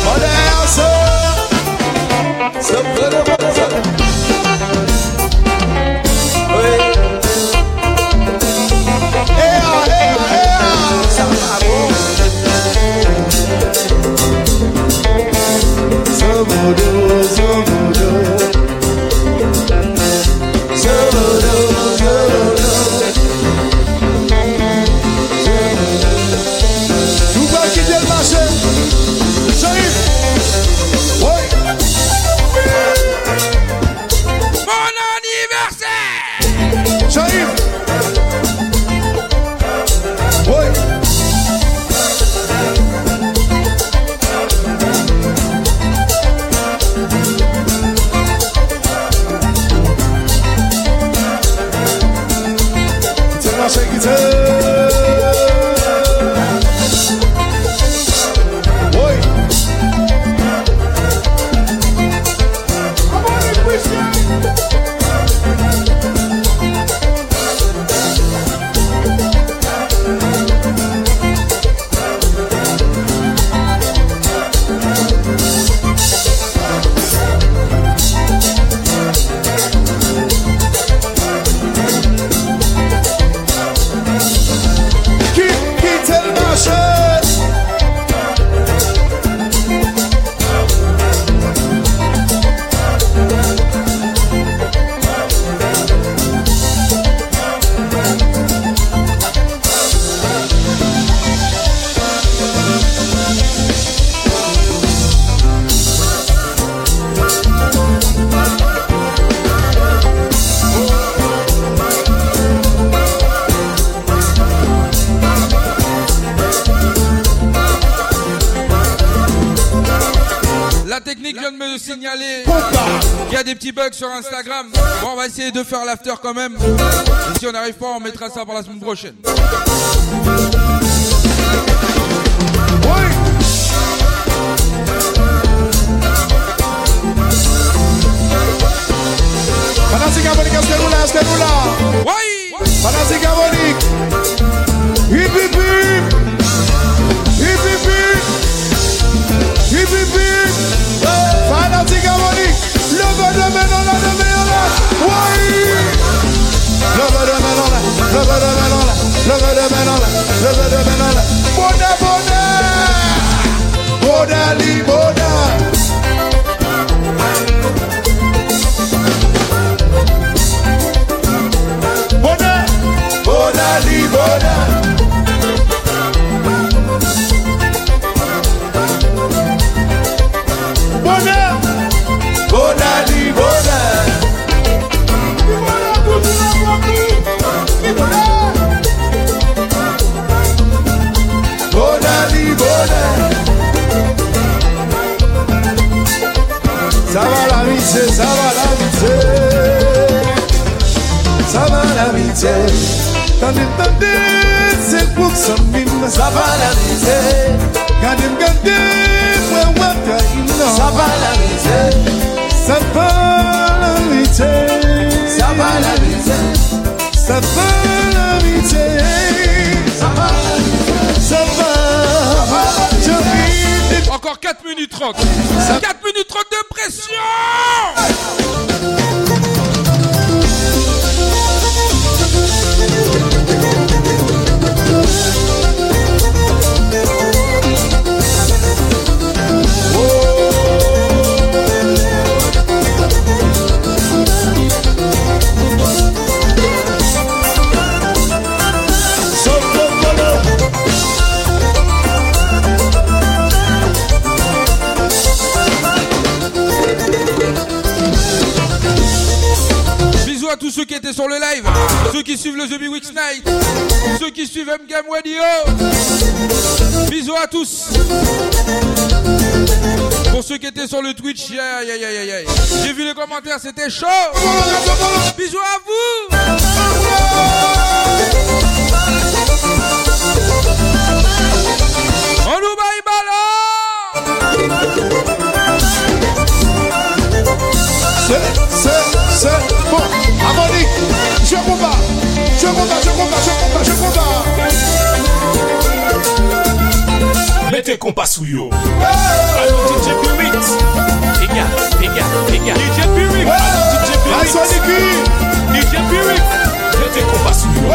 Sur Instagram. Bon, on va essayer de faire l'after quand même. Et si on n'arrive pas, on mettra ça pour la semaine prochaine. Fanatique Abonique, est-ce que nous là? Oui! Fanatique Abonique! Hip hip hip! Hip hip hip! Hip hip hip! Fanatique Abonique! Levez de main dans la oui! Levez de main dans la, levez de main dans la, levez de main dans la, levez de main dans la. Bonne, bonne! Bonne, ça va l'amitié, ça va l'amitié, ça va l'amitié. Tandis, c'est pour ça même, ça va l'amitié. Gardez, ça va l'amitié, ça va l'amitié, ça va l'amitié, ça va l'amitié, ça va, ça va. Encore 4 minutes 30. 4 minutes 30 de pression. À tous ceux qui étaient sur le live, ceux qui suivent le The Big Weeks Night, ceux qui suivent M-Game Radio, bisous à tous. Pour ceux qui étaient sur le Twitch, j'ai vu les commentaires, c'était chaud. Bisous à vous. On nous baille ballon. C'est bon. Harmonique, je combat. Mettez compas sou yo. Allô DJ Pirik. Pega. DJ Pirik. Allô DJ Pirik. DJ Pirik. Mete compas sou yo.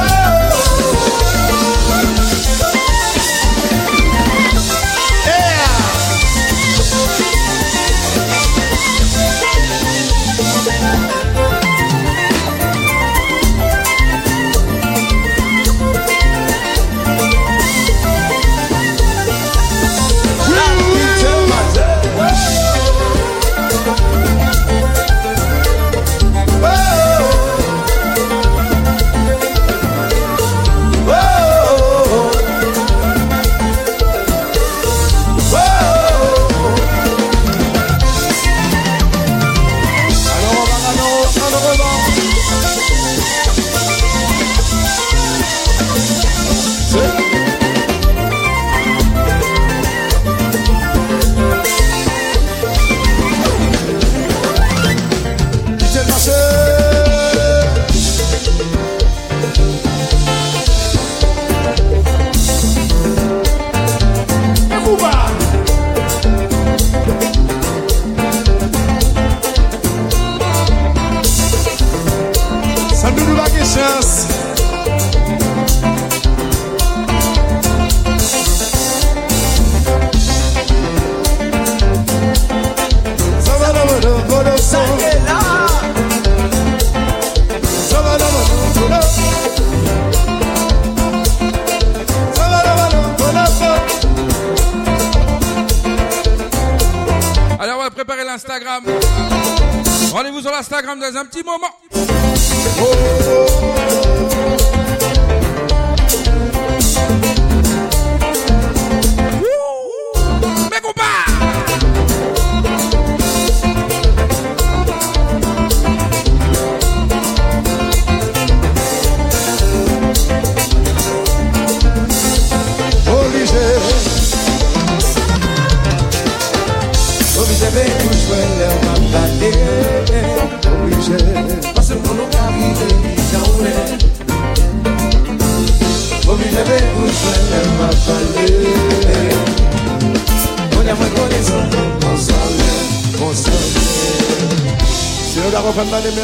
Rendez-vous sur l'Instagram dans un petit moment. Mais compas. Obligé de jouer le mambate. Obligé, parce que nous arrivons dans le. Obligé de jouer le mambate. On a moins connaissance, consoler. Si nous avons fait mal,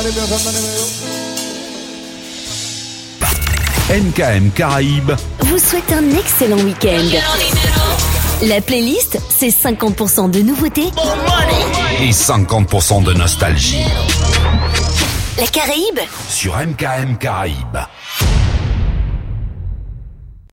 MKM Caraïbes vous souhaite un excellent week-end. La playlist, c'est 50% de nouveautés et 50% de nostalgie. La Caraïbe sur MKM Caraïbes.